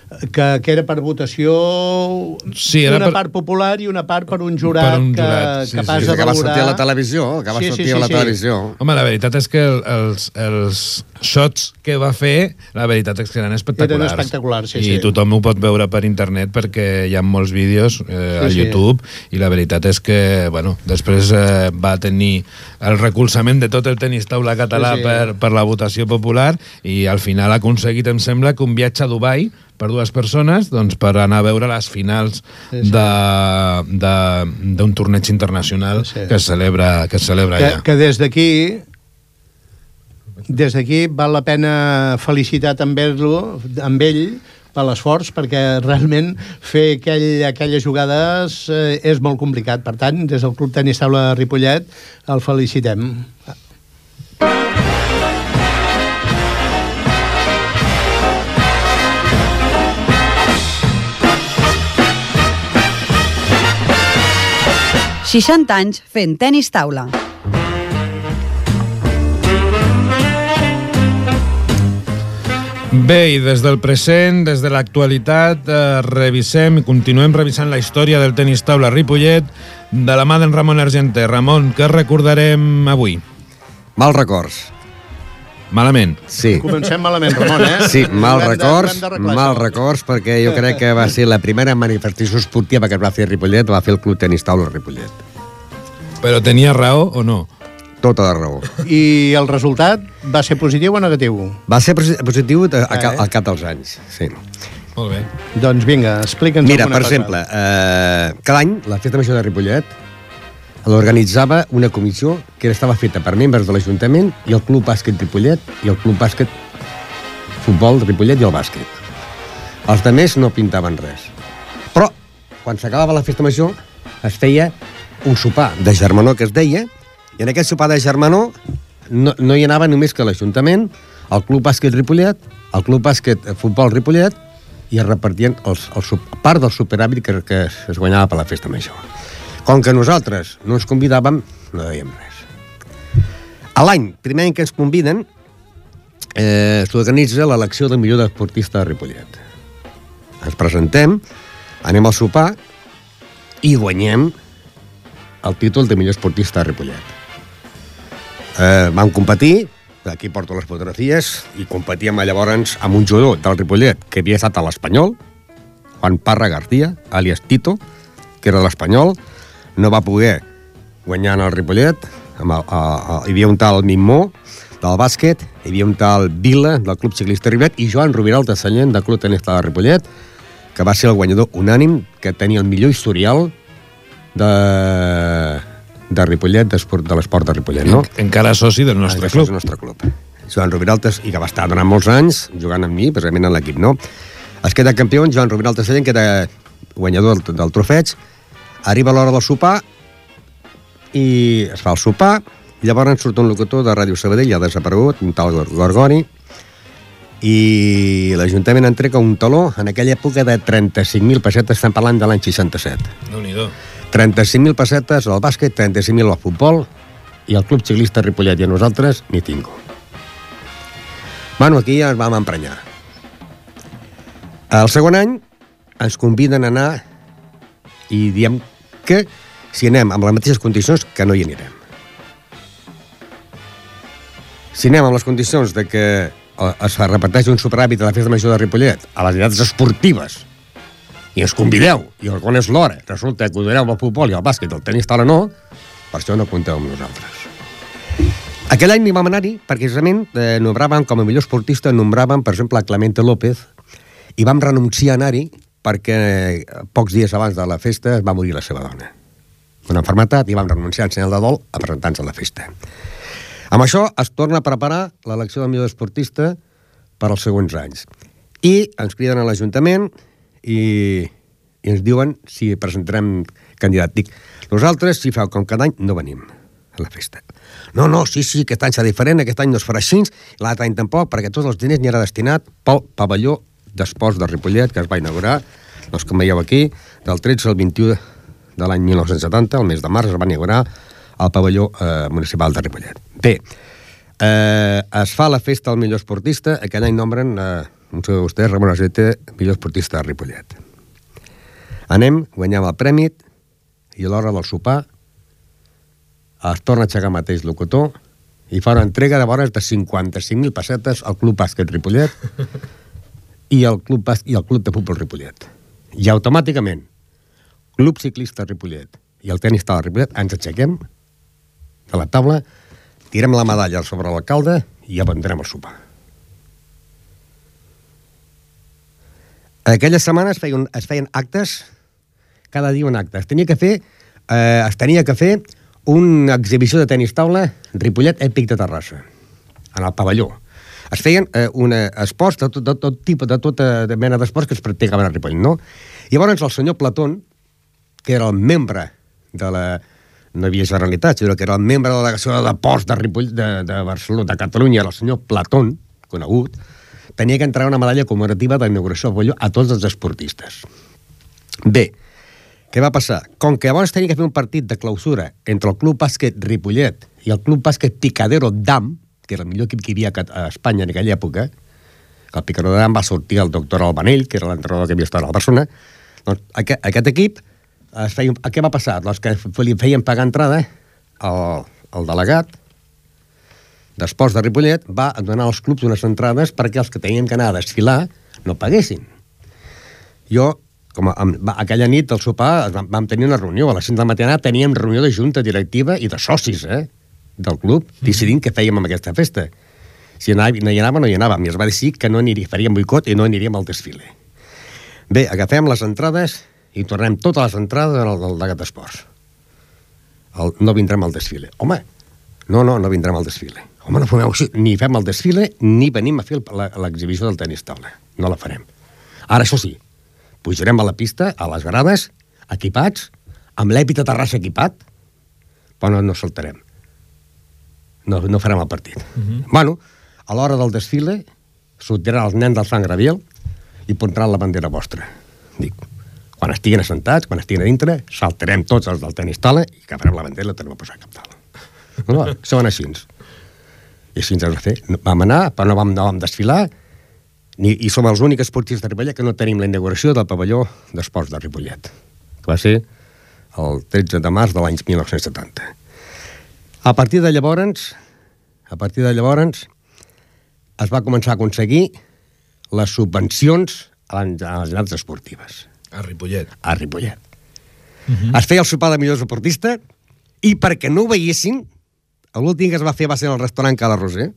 que, que era per votació, sí, era una per... part popular i una part per un jurat, per un jurat sí, que, capaç sí, de sí, que va valorar... sortir a la televisió, que va sí, sortir sí, sí, a la sí. televisió. Home, la veritat és que els, els shots que va fer, la veritat és que eren espectaculars. Eren espectaculars, sí, I sí. tothom ho pot veure per internet perquè hi ha molts vídeos eh, a sí, YouTube sí. I la veritat és que, bueno, després eh, va tenir el recolzament de tot el tenis taula català sí, sí. Per, per la votació popular i al final ha aconseguit, em sembla, que un viatge a Dubai per dues persones doncs, per anar a veure les finals sí, sí. d'un torneig internacional sí. que es celebra, que es celebra que, allà. Que des d'aquí des d'aquí val la pena felicitar també amb ell per l'esforç, perquè realment fer aquell, aquelles jugades eh, és molt complicat. Per tant, des del Club Tenis Taula de Ripollet el felicitem. seixanta anys fent tenis taula. Bé, i des del present, des de l'actualitat, eh, revisem i continuem revisant la història del tenis taula a Ripollet de la mà d'en Ramon Argenter. Ramon, què recordarem avui? Mal records. Malament. Sí. Comencem malament, Ramon, eh? Sí, mal Hem de- records, hem d'arreglar mal això. records, perquè jo crec que va ser la primera manifestació esportiva que es va fer a Ripollet, va fer el Club Tenis Taula a Ripollet. Però tenia raó o no? Tota la raó. I el resultat va ser positiu o negatiu? Va ser posi- positiu a, a, Ah, eh? al cap dels anys, sí. Molt bé. Doncs vinga, explica'ns Mira, alguna per cosa. exemple, eh, cada any la Festa Major de Ripollet l'organitzava una comissió que estava feta per membres de l'Ajuntament i el Club Bàsquet Ripollet i el Club Bàsquet Futbol Ripollet i el bàsquet. Els altres no pintaven res. Però, quan s'acabava la Festa Major, es feia un sopar de germanor que es deia, i en aquest sopar de germanor no, no hi anava només que l'Ajuntament, el Club Bàsquet Ripollet, el Club Bàsquet Futbol Ripollet, i es repartien els, els, part del superàvit que, que es guanyava per la Festa Major. Com que nosaltres no ens convidàvem, no dèiem res. A l'any, primer any que ens conviden, eh, s'organitza l'elecció del millor esportista de Ripollet. Ens presentem, anem al sopar i guanyem el títol de millor esportista de Ripollet. Eh, vam competir, aquí porto les fotografies, i competíem llavors amb un jugador del Ripollet que havia estat a l'Espanyol, Juan Parra García, alias Tito, que era de l'Espanyol, no va poder guanyar en el Ripollet, amb el, a, a, hi havia un tal Mimó, del bàsquet, hi havia un tal Vila, del Club Ciclista Ripollet, i Joan Roviral de Sallent, del Club Tenis Taula de Ripollet, que va ser el guanyador unànim, que tenia el millor historial de, de Ripollet, de l'esport de Ripollet, no? En, encara soci del nostre club. Del nostre club. Joan Roviraltes, i que va estar durant molts anys jugant amb mi, precisament en l'equip, no? Es queda campió, Joan Roviraltes Sallent, que era guanyador del, del trofeig, arriba l'hora del sopar i es fa el sopar, i llavors surt un locutor de Ràdio Sabadell, ja ha desaparegut, un tal Gorgoni, i l'Ajuntament entrega un taló en aquella època de trenta-cinc mil pessetes, estem parlant de l'any seixanta-set. Déu-n'hi-do. trenta-cinc mil pessetes al bàsquet, trenta-cinc mil al futbol, i el Club Ciclista Ripollet i a nosaltres ni tingo. Bueno, aquí ja ens vam emprenyar. El segon any ens conviden a anar i diem que si anem amb les mateixes condicions, que no hi anirem. Si anem amb les condicions de que es repeteix un superàvit a la Festa Major de Ripollet, a les entitats esportives, i ens convideu, i el quan és l'hora, resulta que ho doneu al futbol i al bàsquet, el tenis taula no, per això no compteu amb nosaltres. Aquell any ni vam anar-hi, perquè precisament eh, nombràvem com a millor esportista, nombràvem, per exemple, a Clemente López, i vam renunciar a anar-hi perquè pocs dies abans de la festa es va morir la seva dona. Una malaltia, i vam renunciar en senyal de dol a presentar-nos a la festa. Amb això es torna a preparar l'elecció del millor esportista per als següents anys. I ens criden a l'Ajuntament i, i ens diuen si presentarem candidat. Dic, nosaltres, si feu com cada any, no venim a la festa. No, no, sí, sí, aquest any serà diferent, aquest any no es farà així, l'altre any tampoc, perquè tots els diners n'hi era destinat pel pavelló d'esports de Ripollet, que es va inaugurar, doncs com veieu aquí, del tretze al vint-i-u de l'any mil nou-cents setanta, el mes de març, es va inaugurar al pavelló eh, municipal de Ripollet. Bé, eh, es fa la festa al millor esportista, aquell any nombren eh, un saludo a vostè, Ramon Azete, millor esportista de Ripollet. Anem, guanyem el premi, i a l'hora del sopar es torna a aixecar mateix locutor i fa una entrega de vores de cinquanta-cinc mil pessetes al Club Bàsquet Ripollet i el Club, Bas... i el Club de Futbol Ripollet. I automàticament, Club Ciclista Ripollet i el Tenis Taula Ripollet ens aixequem de la taula, tirem la medalla sobre l'alcalde i abandonem el sopar. En aquelles setmanes es feien, es feien actes, cada dia un acte. Es tenia que fer, eh, es tenia que fer una exhibició de tenis taula Ripollet Èpic de Terrassa, en el pavelló. Es feien eh, una esports de tot, de tot tipus, de tota mena d'esports que es practicaven a Ripollet, no? I llavors el senyor Platón, que era el membre de la... no hi havia Generalitat, sinó que era el membre de la delegació de deports de Ripollet, de, de Barcelona, de Catalunya, el senyor Platón, conegut, tenia que entregar una medalla commemorativa d'inauguració del pavelló a tots els esportistes. Bé, què va passar? Com que llavors tenia que fer un partit de clausura entre el Club Bàsquet Ripollet i el Club Bàsquet Picadero Dam, que era el millor equip que hi havia a Espanya en aquella època, que el Picadero Dam va sortir el doctor Albanell, que era l'entrenador que havia estat a la persona, doncs aquest, aquest equip, es feia, què va passar? Els que li feien pagar entrada, el, el delegat d'esports de Ripollet va donar als clubs unes entrades perquè els que tenien que anar a desfilar no paguessin. Jo, com a, a, aquella nit al sopar vam, vam tenir una reunió, a les cinc de la matinada teníem reunió de junta directiva i de socis, eh, del club, decidint què fèiem amb aquesta festa. Si no hi anava, no hi anàvem, i es va decidir que no aniria, faríem boicot i no aniríem al desfile. Bé, agafem les entrades i tornem totes les entrades al delegat d'esports. El, no vindrem al desfile. Home, no, no, no vindrem al desfile. Home, no fumeu així. Ni fem el desfile, ni venim a fer l'exhibició del tenis taula. No la farem. Ara, això sí, pujarem a la pista, a les grades, equipats, amb l'Èpic de Terrassa equipat, però no, no saltarem. No, no farem el partit. Uh-huh. Bueno, a l'hora del desfile, sortiran els nens del Sant Gabriel i portaran la bandera vostra. Dic, quan estiguin assentats, quan estiguin a dintre, saltarem tots els del tenis taula i agafarem la bandera i la tornem a posar cap taula. No, són així. I així ens vam fer. Vam anar, però no vam, no vam desfilar, ni, i som els únics esportistes de Ripollet que no tenim la inauguració del pavelló d'esports de Ripollet, que va ser el tretze de març de l'any mil nou-cents setanta. A partir de llavors, a partir de llavors, es va començar a aconseguir les subvencions a les generals esportives. A Ripollet. A Ripollet. Uh-huh. Es feia el sopar de millor esportista i perquè no ho veiessin, l'últim que es va fer va ser al restaurant Cala Roser.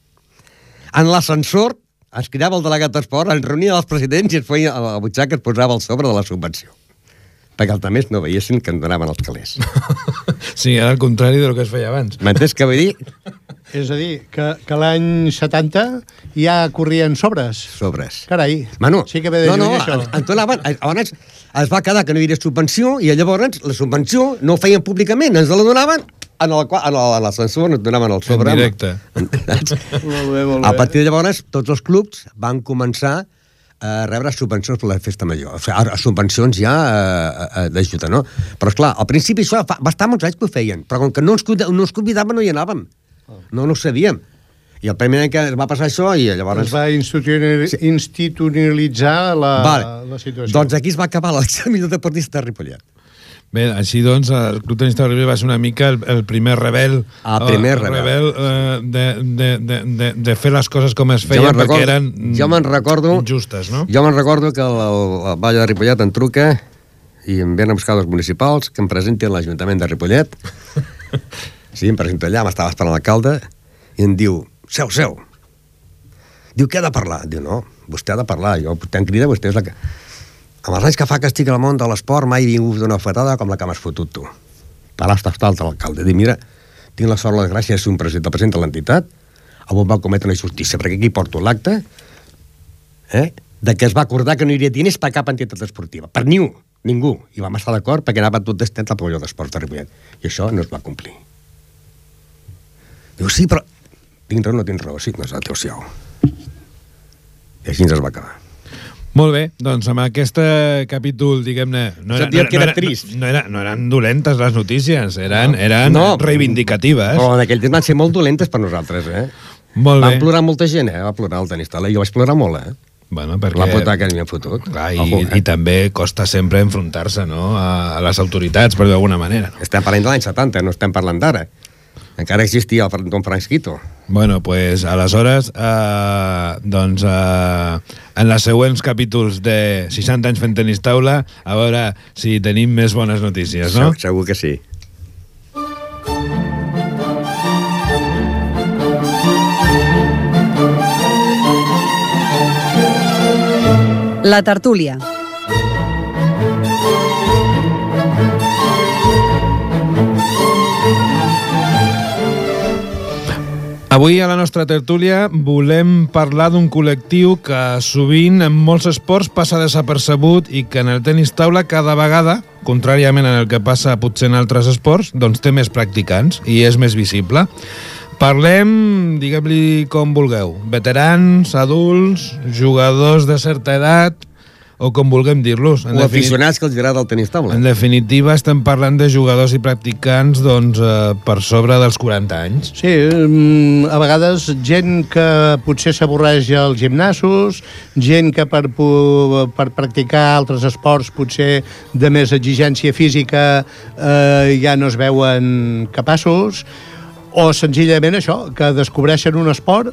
En l'ascensor es cridava el delegat d'esport, es reunia els presidents i es feia a la butxaca, es posava el sobre de la subvenció. Perquè els altres no veiessin que en donaven els calés. Sí, era el contrari del que es feia abans. M'entens què vull dir? És a dir, que, que l'any setanta ja corrien sobres. Sobres. Carai, Manu, sí que ve de no, no, lluny, això. En, en donaven, abans es va quedar que no hi havia subvenció i llavors la subvenció no ho feien públicament, ens la donaven en l'ascensor, ens donaven el sobre. En directe. Molt bé, molt bé. A partir de llavors, tots els clubs van començar a rebre subvencions per la festa major. O sigui, subvencions ja eh, d'ajuda, no? Però, esclar, al principi això fa, va estar molts anys que ho feien, però com que no ens, no ens convidaven no hi anàvem. No, no ho sabíem. I el primer any que va passar això i llavors... Es va institucionalitzar la, vale. la situació. Doncs aquí es va acabar l'examen millor deportista de Ripollet. Bé, així doncs, el Club Tenis Taula Ripollet va ser una mica el, el primer rebel, el primer el rebel, rebel eh, de, de, de, de, de fer les coses com es feien, jo perquè recordo, eren jo recordo, justes, no? Jo me'n recordo que el, el, el Vall de Ripollet em truca i em venen a buscar els municipals que em presenti a l'Ajuntament de Ripollet. Sí, em presento allà, m'estava esperant l'alcalde i em diu, seu, seu. Diu, què ha de parlar? Diu, no, vostè ha de parlar, jo te'n crida, vostè és la que... Amb els anys que fa que estic al món de l'esport mai he vingut d'una fetada com la que m'has fotut tu. Parlar està alt l'alcalde. Diu, mira, tinc la sort, la gràcia de ser un president, el president de l'entitat, avui va cometre una injustícia, perquè aquí porto l'acte eh, de que es va acordar que no hi hauria diners per cap entitat esportiva. Per ni un, ningú. I vam estar d'acord perquè anava tot destent al pavelló d'esports de Ripollet. I això no es va complir. Diu, sí, però... Tinc raó o no tinc raó? Sí, no és el teu ciau. I així ens es va acabar. Molt bé, doncs amb aquest capítol, diguem-ne... No, era, no, era, no, era, no, era, no eren dolentes les notícies, eren, eren no, reivindicatives. Però en aquell temps van ser molt dolentes per nosaltres, eh? Molt Van bé. plorar molta gent, eh? Va plorar el tenis taula, i jo vaig plorar molt, eh? Bueno, perquè... La puta que m'ha fotut. Clar, i, Ojo, eh? I també costa sempre enfrontar-se, no?, a, a les autoritats, però d'alguna manera. No? Estem parlant de l'any setanta, no estem parlant d'ara. Encara existia el Don Francisquito. Bueno, pues aleshores, eh, doncs, eh, en els següents capítols de seixanta anys fent tenis taula, a veure si tenim més bones notícies, no? Segur, segur que sí. La tertúlia. Avui a la nostra tertúlia volem parlar d'un col·lectiu que sovint en molts esports passa desapercebut i que en el tenis taula cada vegada, contràriament en el que passa potser en altres esports, doncs té més practicants i és més visible. Parlem, diguem-li com vulgueu, veterans, adults, jugadors de certa edat, o com vulguem dir-los. O aficionats que els agrada el tenis taula. En definitiva, estem parlant de jugadors i practicants doncs, eh, per sobre dels quaranta anys. Sí, a vegades gent que potser s'avorreix als gimnasos, gent que per, per practicar altres esports potser de més exigència física eh, ja no es veuen capaços, o senzillament això, que descobreixen un esport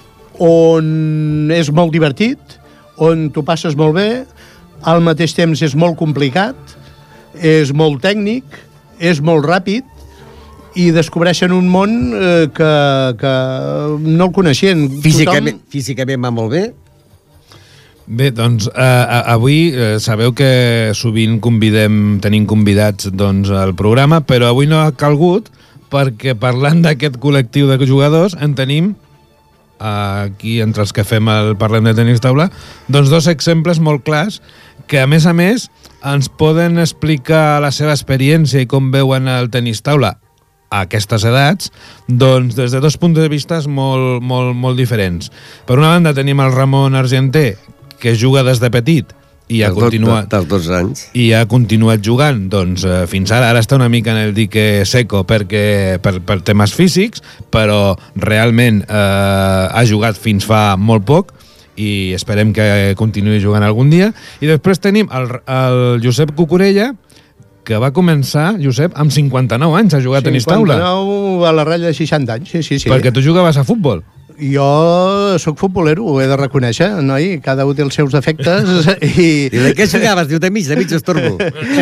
on és molt divertit, on t'ho passes molt bé, al mateix temps és molt complicat, és molt tècnic, és molt ràpid, i descobreixen un món eh, que, que no el coneixien. Físicament, Tothom... físicament va molt bé? Bé, doncs, eh, avui eh, sabeu que sovint convidem, tenim convidats doncs, al programa, però avui no ha calgut perquè parlant d'aquest col·lectiu de jugadors en tenim, aquí entre els que fem el Parlem de Tenis Taula, doncs dos exemples molt clars que a més a més ens poden explicar la seva experiència i com veuen el tenis taula a aquestes edats, doncs des de dos punts de vista molt, molt, molt diferents. Per una banda tenim el Ramon Argenter, que juga des de petit i ha continuat dels dos anys i ha continuat jugant doncs, eh, fins ara, ara està una mica en el dique seco perquè, per, per temes físics, però realment eh, ha jugat fins fa molt poc i esperem que continuï jugant algun dia. I després tenim el, el Josep Cucurella, que va començar, Josep, amb cinquanta-nou anys a jugar a tenis taula. cinquanta-nou a la ratlla de seixanta anys, sí, sí, sí. Perquè tu jugaves a futbol. Jo sóc futbolero, ho he de reconèixer, noi? Cada un té els seus efectes i... I de què jugaves? Diu, de mig, de mig estorbo.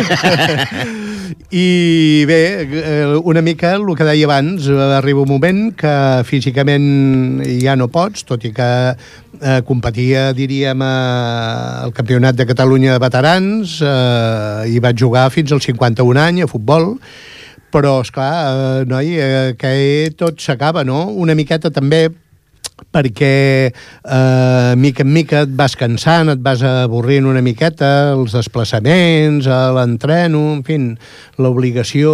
I bé, una mica el que deia abans, arriba un moment que físicament ja no pots, tot i que eh, competia, diríem, al Campionat de Catalunya de Veterans eh, i vaig jugar fins als cinquanta-un anys a futbol, però, esclar, eh, noi, eh, que tot s'acaba, no? Una miqueta també perquè eh, mica en mica et vas cansant, et vas avorrint una miqueta, els desplaçaments, l'entreno, en fi, l'obligació.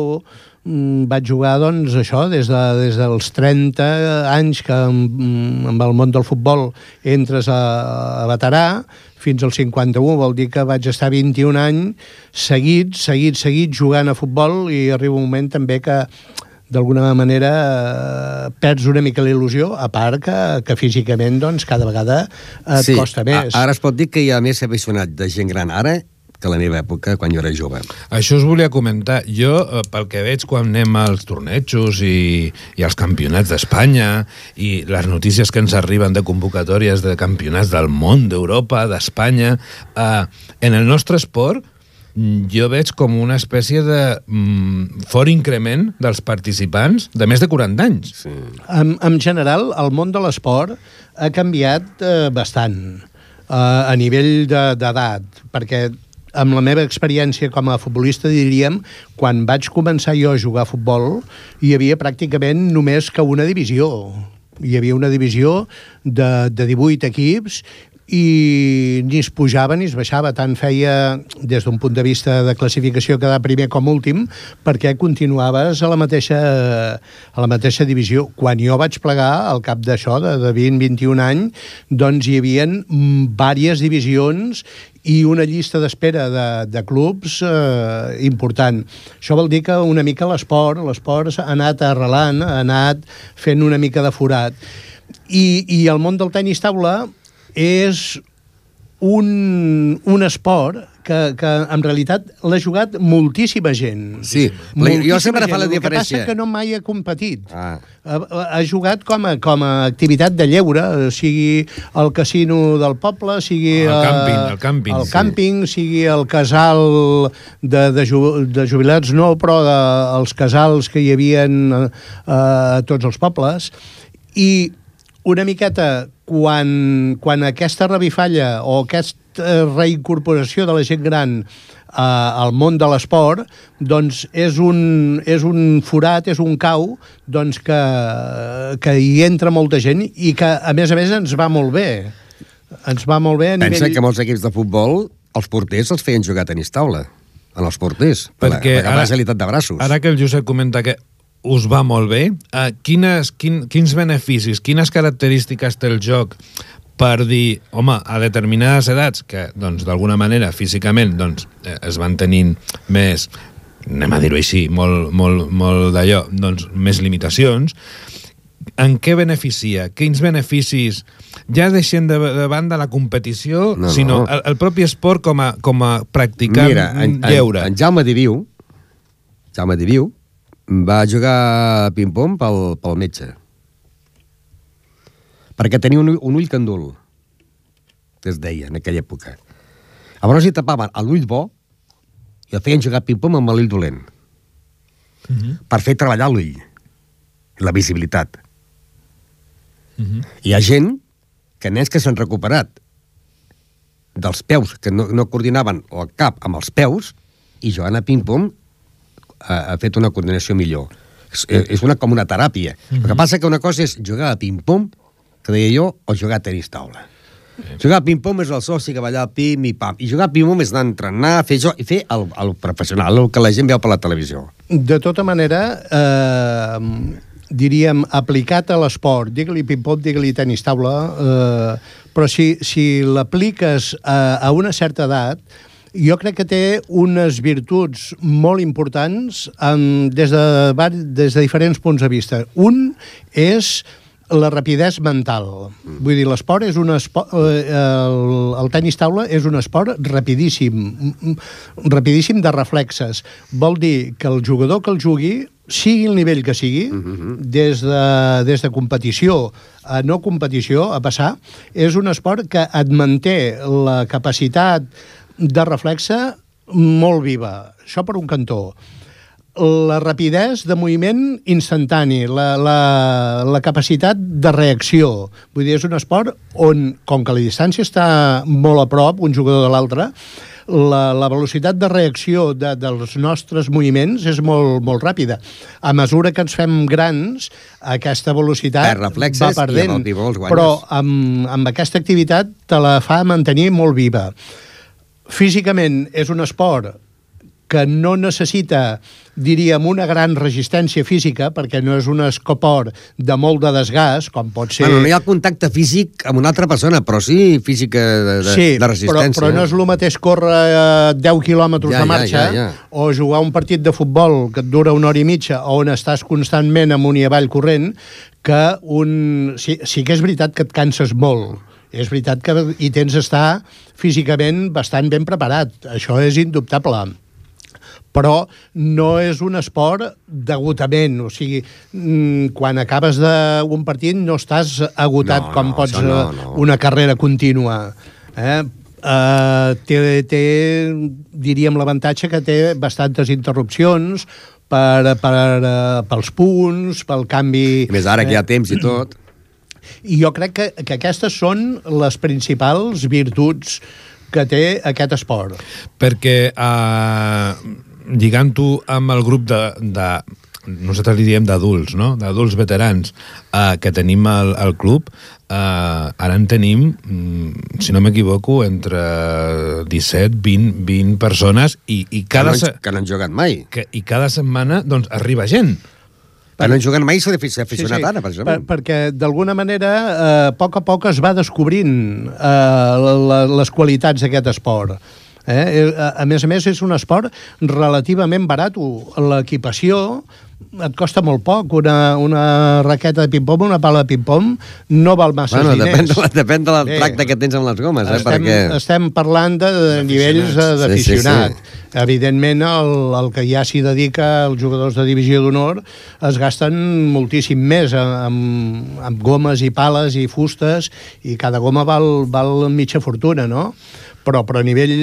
Vaig jugar, doncs, això, des, de, des dels trenta anys que amb el món del futbol entres a, a veterà, fins als cinquanta-un, vol dir que vaig estar vint-i-un anys seguit, seguit, seguit jugant a futbol, i arriba un moment també que d'alguna manera eh, perds una mica la il·lusió, a part que, que físicament doncs, cada vegada et sí, costa més. Ara es pot dir que hi ha més aficionat de gent gran ara que a la meva època, quan jo era jove. Això us volia comentar. Jo, pel que veig quan anem als tornejos i, i als campionats d'Espanya i les notícies que ens arriben de convocatòries de campionats del món, d'Europa, d'Espanya, eh, en el nostre esport jo veig com una espècie de mm, fort increment dels participants de més de quaranta anys. Sí. En, en general, el món de l'esport ha canviat eh, bastant eh, a nivell d'edat, perquè amb la meva experiència com a futbolista, diríem, quan vaig començar jo a jugar a futbol, hi havia pràcticament només que una divisió. Hi havia una divisió de, de divuit equips i ni es pujava ni es baixava, tant feia des d'un punt de vista de classificació quedar primer com últim, perquè continuaves a la mateixa, a la mateixa divisió. Quan jo vaig plegar, al cap d'això, de, de vint a vint-i-un anys, doncs hi havia diverses divisions i una llista d'espera de, de clubs eh, important. Això vol dir que una mica l'esport, l'esport ha anat arrelant, ha anat fent una mica de forat. I, i el món del tenis taula és un, un esport que, que en realitat l'ha jugat moltíssima gent. Sí, moltíssima jo sempre gent. fa la El diferència. que passa que no mai ha competit. Ah. Ha, ha jugat com a, com a activitat de lleure, sigui el casino del poble, sigui el càmping, el càmping, el sí. càmping, sigui el casal de, de, ju, de jubilats, no, però de, els casals que hi havia a eh, tots els pobles. I una miqueta, quan, quan aquesta revifalla o aquesta reincorporació de la gent gran eh, al món de l'esport, doncs és un, és un forat, és un cau doncs que, que hi entra molta gent i que, a més a més, ens va molt bé. Ens va molt bé a nivell... Pensa que molts equips de futbol, els porters els feien jugar a tenis taula, en els porters, per Perquè la, per la agilitat de braços. Ara que el Josep comenta que us va molt bé, eh, quines, quin, quins beneficis, quines característiques té el joc per dir, home, a determinades edats, que, doncs, d'alguna manera, físicament, doncs, eh, es van tenint més, anem a dir-ho així, molt, molt, molt d'allò, doncs, més limitacions, en què beneficia? Quins beneficis, ja deixem de, de banda la competició, no, sinó no. El, el propi esport com a, com a practicant Mira, en, lleure? En, en Jaume Diviu, Jaume Diviu, va jugar a ping-pong pel, pel metge. Perquè tenia un, un ull candul, que es deia en aquella època. Llavors hi tapaven l'ull bo i el feien jugar ping-pong amb l'ull dolent. Uh-huh. Per fer treballar l'ull, la visibilitat. Uh-huh. Hi ha gent, que nens que s'han recuperat dels peus, que no, no coordinaven el cap amb els peus, i jugant a ping-pong ha, ha fet una coordinació millor. És, és una, com una teràpia. Uh-huh. El que passa que una cosa és jugar a ping-pong, que deia jo, o jugar a tenis taula. Uh-huh. Jugar a ping-pong és el soci que va allà pim i pam. I jugar a ping-pong és anar a entrenar, fer jo, i fer el, el professional, el que la gent veu per la televisió. De tota manera, eh, diríem, aplicat a l'esport, digue-li ping-pong, digue-li tenis taula, eh, però si, si l'apliques a, a una certa edat, jo crec que té unes virtuts molt importants um, des, de, des de diferents punts de vista. Un és la rapidesa mental. Vull dir, l'esport és un esport... Eh, el, el tenis taula és un esport rapidíssim, rapidíssim de reflexes. Vol dir que el jugador que el jugui, sigui el nivell que sigui, uh-huh. des, de, des de competició a no competició, a passar, és un esport que et manté la capacitat de reflexe molt viva. Això per un cantó. La rapidesa de moviment instantani, la, la, la capacitat de reacció. Vull dir, és un esport on, com que la distància està molt a prop, un jugador de l'altre, la, la velocitat de reacció de, dels nostres moviments és molt, molt ràpida. A mesura que ens fem grans, aquesta velocitat va perdent. Però amb, amb aquesta activitat te la fa mantenir molt viva. Físicament és un esport que no necessita, diríem, una gran resistència física, perquè no és un escoport de molt de desgast, com pot ser... Bueno, no hi ha contacte físic amb una altra persona, però sí física de, de, sí, de resistència. Sí, però, però no és el mateix córrer eh, deu quilòmetres ja, de marxa, ja, ja, ja. o jugar un partit de futbol que et dura una hora i mitja, on estàs constantment amunt i avall corrent, que un... Sí, sí que és veritat que et canses molt. És veritat que hi tens d'estar físicament bastant ben preparat. Això és indubtable. Però no és un esport d'agotament. O sigui, quan acabes d'un partit no estàs agotat no, com no, pots no, no. una carrera contínua. Eh? Uh, té, té, diríem, l'avantatge que té bastantes interrupcions per, per, uh, pels punts, pel canvi... I més ara que hi ha temps i tot... I jo crec que, que aquestes són les principals virtuts que té aquest esport. Perquè, eh, lligant-ho amb el grup de, de nosaltres li diem d'adults, no? D'adults veterans eh, que tenim al, al club, eh, ara en tenim, si no m'equivoco, entre disset, vint, vint persones i, i cada... Que no, que no han jugat mai. Que, I cada setmana, doncs, arriba gent. Per no juguen mai s'ha aficionat sí, sí. ara, precisament. Per, perquè, d'alguna manera, eh, a poc a poc es va descobrint eh, la, les qualitats d'aquest esport. Eh? A més a més, és un esport relativament barat. L'equipació et costa molt poc. Una, una raqueta de ping-pong, una pala de ping-pong, no val massa bueno, diners. Depèn de, la, depèn de la Bé, tracte que tens amb les gomes, eh? Estem, Perquè... estem parlant de, de nivells d'aficionat. Sí, sí, sí. Evidentment, el, el que ja s'hi dedica, els jugadors de divisió d'honor, es gasten moltíssim més amb, amb gomes i pales i fustes, i cada goma val, val mitja fortuna, no? Però, però a nivell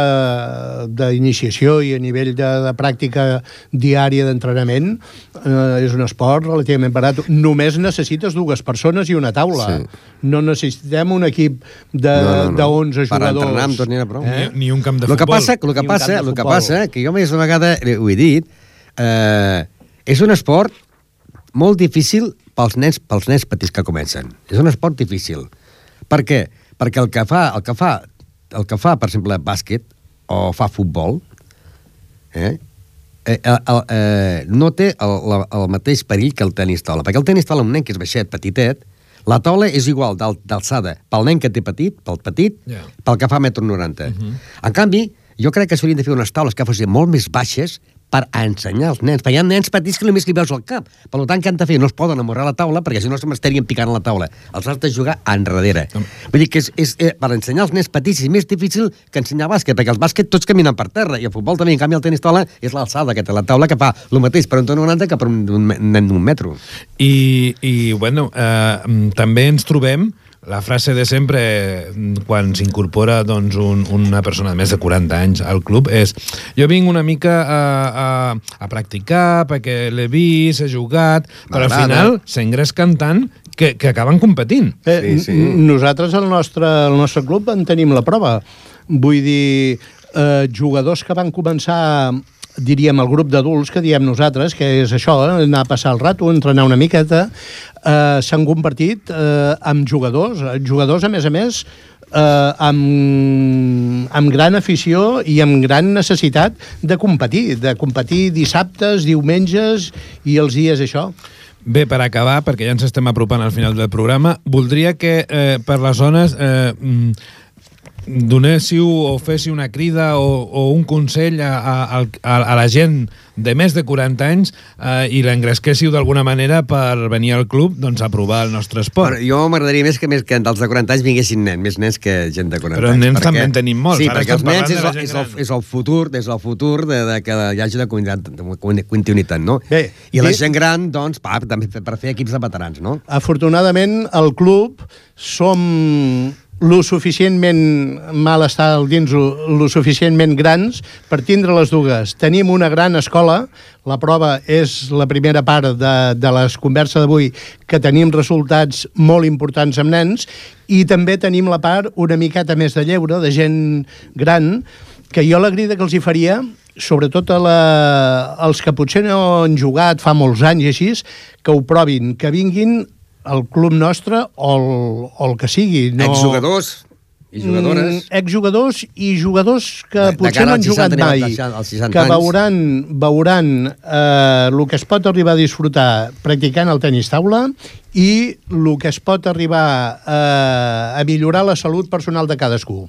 d'iniciació i a nivell de, de pràctica diària d'entrenament eh, és un esport relativament barat. Només necessites dues persones i una taula. Sí. No necessitem un equip de, no, no, no. de onze jugadors. Per entrenar amb tot n'hi ha prou. Eh? Ni, ni un camp de lo futbol. Que passa, lo que passa, lo que passa, que jo més d'una vegada ho he dit, eh, és un esport molt difícil pels nens, pels nens petits que comencen. És un esport difícil. Per què? Perquè el que fa, el que fa el que fa, per exemple, bàsquet o fa futbol, eh, eh, eh, eh, no té el, el mateix perill que el tenis taula. Perquè el tenis taula, un nen que és baixet, petitet, la taula és igual d'alçada pel nen que té petit, pel petit, yeah. pel que fa metro noranta. Uh-huh. En canvi, jo crec que s'haurien de fer unes taules que fossin molt més baixes per ensenyar als nens, perquè hi ha nens petits que només li veus al cap. Per tant, què han de fer? No es poden amorrar la taula, perquè si no se m'estarien picant a la taula. Els has de jugar enrere. Mm. Vull dir que és, és, és, per ensenyar als nens petits és més difícil que ensenyar bàsquet, perquè els bàsquet tots caminen per terra, i el futbol també, en canvi el tenis taula és l'alçada que té la taula, que fa el mateix per un ton noranta que per un, un nen d'un metro. I, i bueno, eh, també ens trobem la frase de sempre quan s'incorpora doncs, un, una persona de més de quaranta anys al club és jo vinc una mica a, a, a practicar perquè l'he vist, he jugat, però al final s'engresquen tant que, que acaben competint. Eh, sí, sí. Nosaltres al nostre, al nostre club en tenim la prova. Vull dir, eh, jugadors que van començar, diríem, el grup d'adults que diem nosaltres, que és això, eh, anar a passar el rato, entrenar una miqueta, eh, s'han convertit eh, en jugadors, jugadors a més a més eh, amb, amb gran afició i amb gran necessitat de competir, de competir dissabtes, diumenges i els dies això. Bé, per acabar, perquè ja ens estem apropant al final del programa, voldria que eh, per les zones eh, donéssiu o féssiu una crida o, o un consell a, a, a, a la gent de més de quaranta anys eh, i l'engresquéssiu d'alguna manera per venir al club doncs, a provar el nostre esport. Però jo m'agradaria més que, més que dels de quaranta anys vinguessin nens, més nens que gent de quaranta Però anys. Però nens perquè... també en tenim molts. Sí, Ara perquè els nens és, és, és, el, és el futur, és el futur de, de que hi hagi de continuïtat, no? Bé, I la gent gran, doncs, pa, també per fer equips de veterans, no? Afortunadament, al club som lo suficientment mal estar dins lo suficientment grans per tindre les dues. Tenim una gran escola, la prova és la primera part de, de les converses d'avui, que tenim resultats molt importants amb nens, i també tenim la part una miqueta més de lleure, de gent gran, que jo la crida que els hi faria, sobretot a la, els que potser no han jugat fa molts anys i així, que ho provin, que vinguin al club nostre o el, o el que sigui. No... Exjugadors i jugadores. Mm, exjugadors i jugadors que de, potser de no han jugat mai, que veuran, veuran eh, el que es pot arribar a disfrutar practicant el tenis taula i el que es pot arribar eh, a millorar la salut personal de cadascú.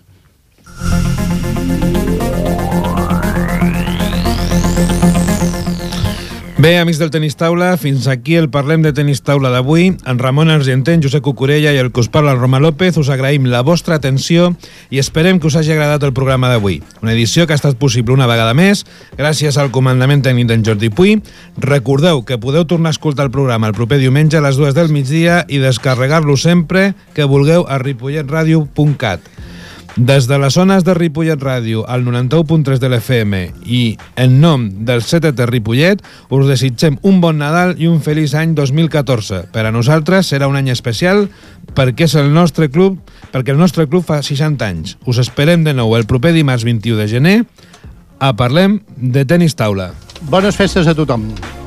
Bé, amics del Tenis Taula, fins aquí el Parlem de Tenis Taula d'avui. En Ramon Argenter, en Josep Cucurella i el que us parla, el Roma López, us agraïm la vostra atenció i esperem que us hagi agradat el programa d'avui. Una edició que ha estat possible una vegada més gràcies al comandament tècnic d'en Jordi Puy. Recordeu que podeu tornar a escoltar el programa el proper diumenge a les dues del migdia i descarregar-lo sempre que vulgueu a ripollet ràdio punt cat. Des de les zones de Ripollet Ràdio al noranta-u punt tres de l'F M i en nom del C T T Ripollet us desitgem un bon Nadal i un feliç any dos mil catorze. Per a nosaltres serà un any especial perquè és el nostre club, perquè el nostre club fa seixanta anys. Us esperem de nou el proper dimarts vint-i-u de gener a Parlem de Tenis Taula. Bones festes a tothom.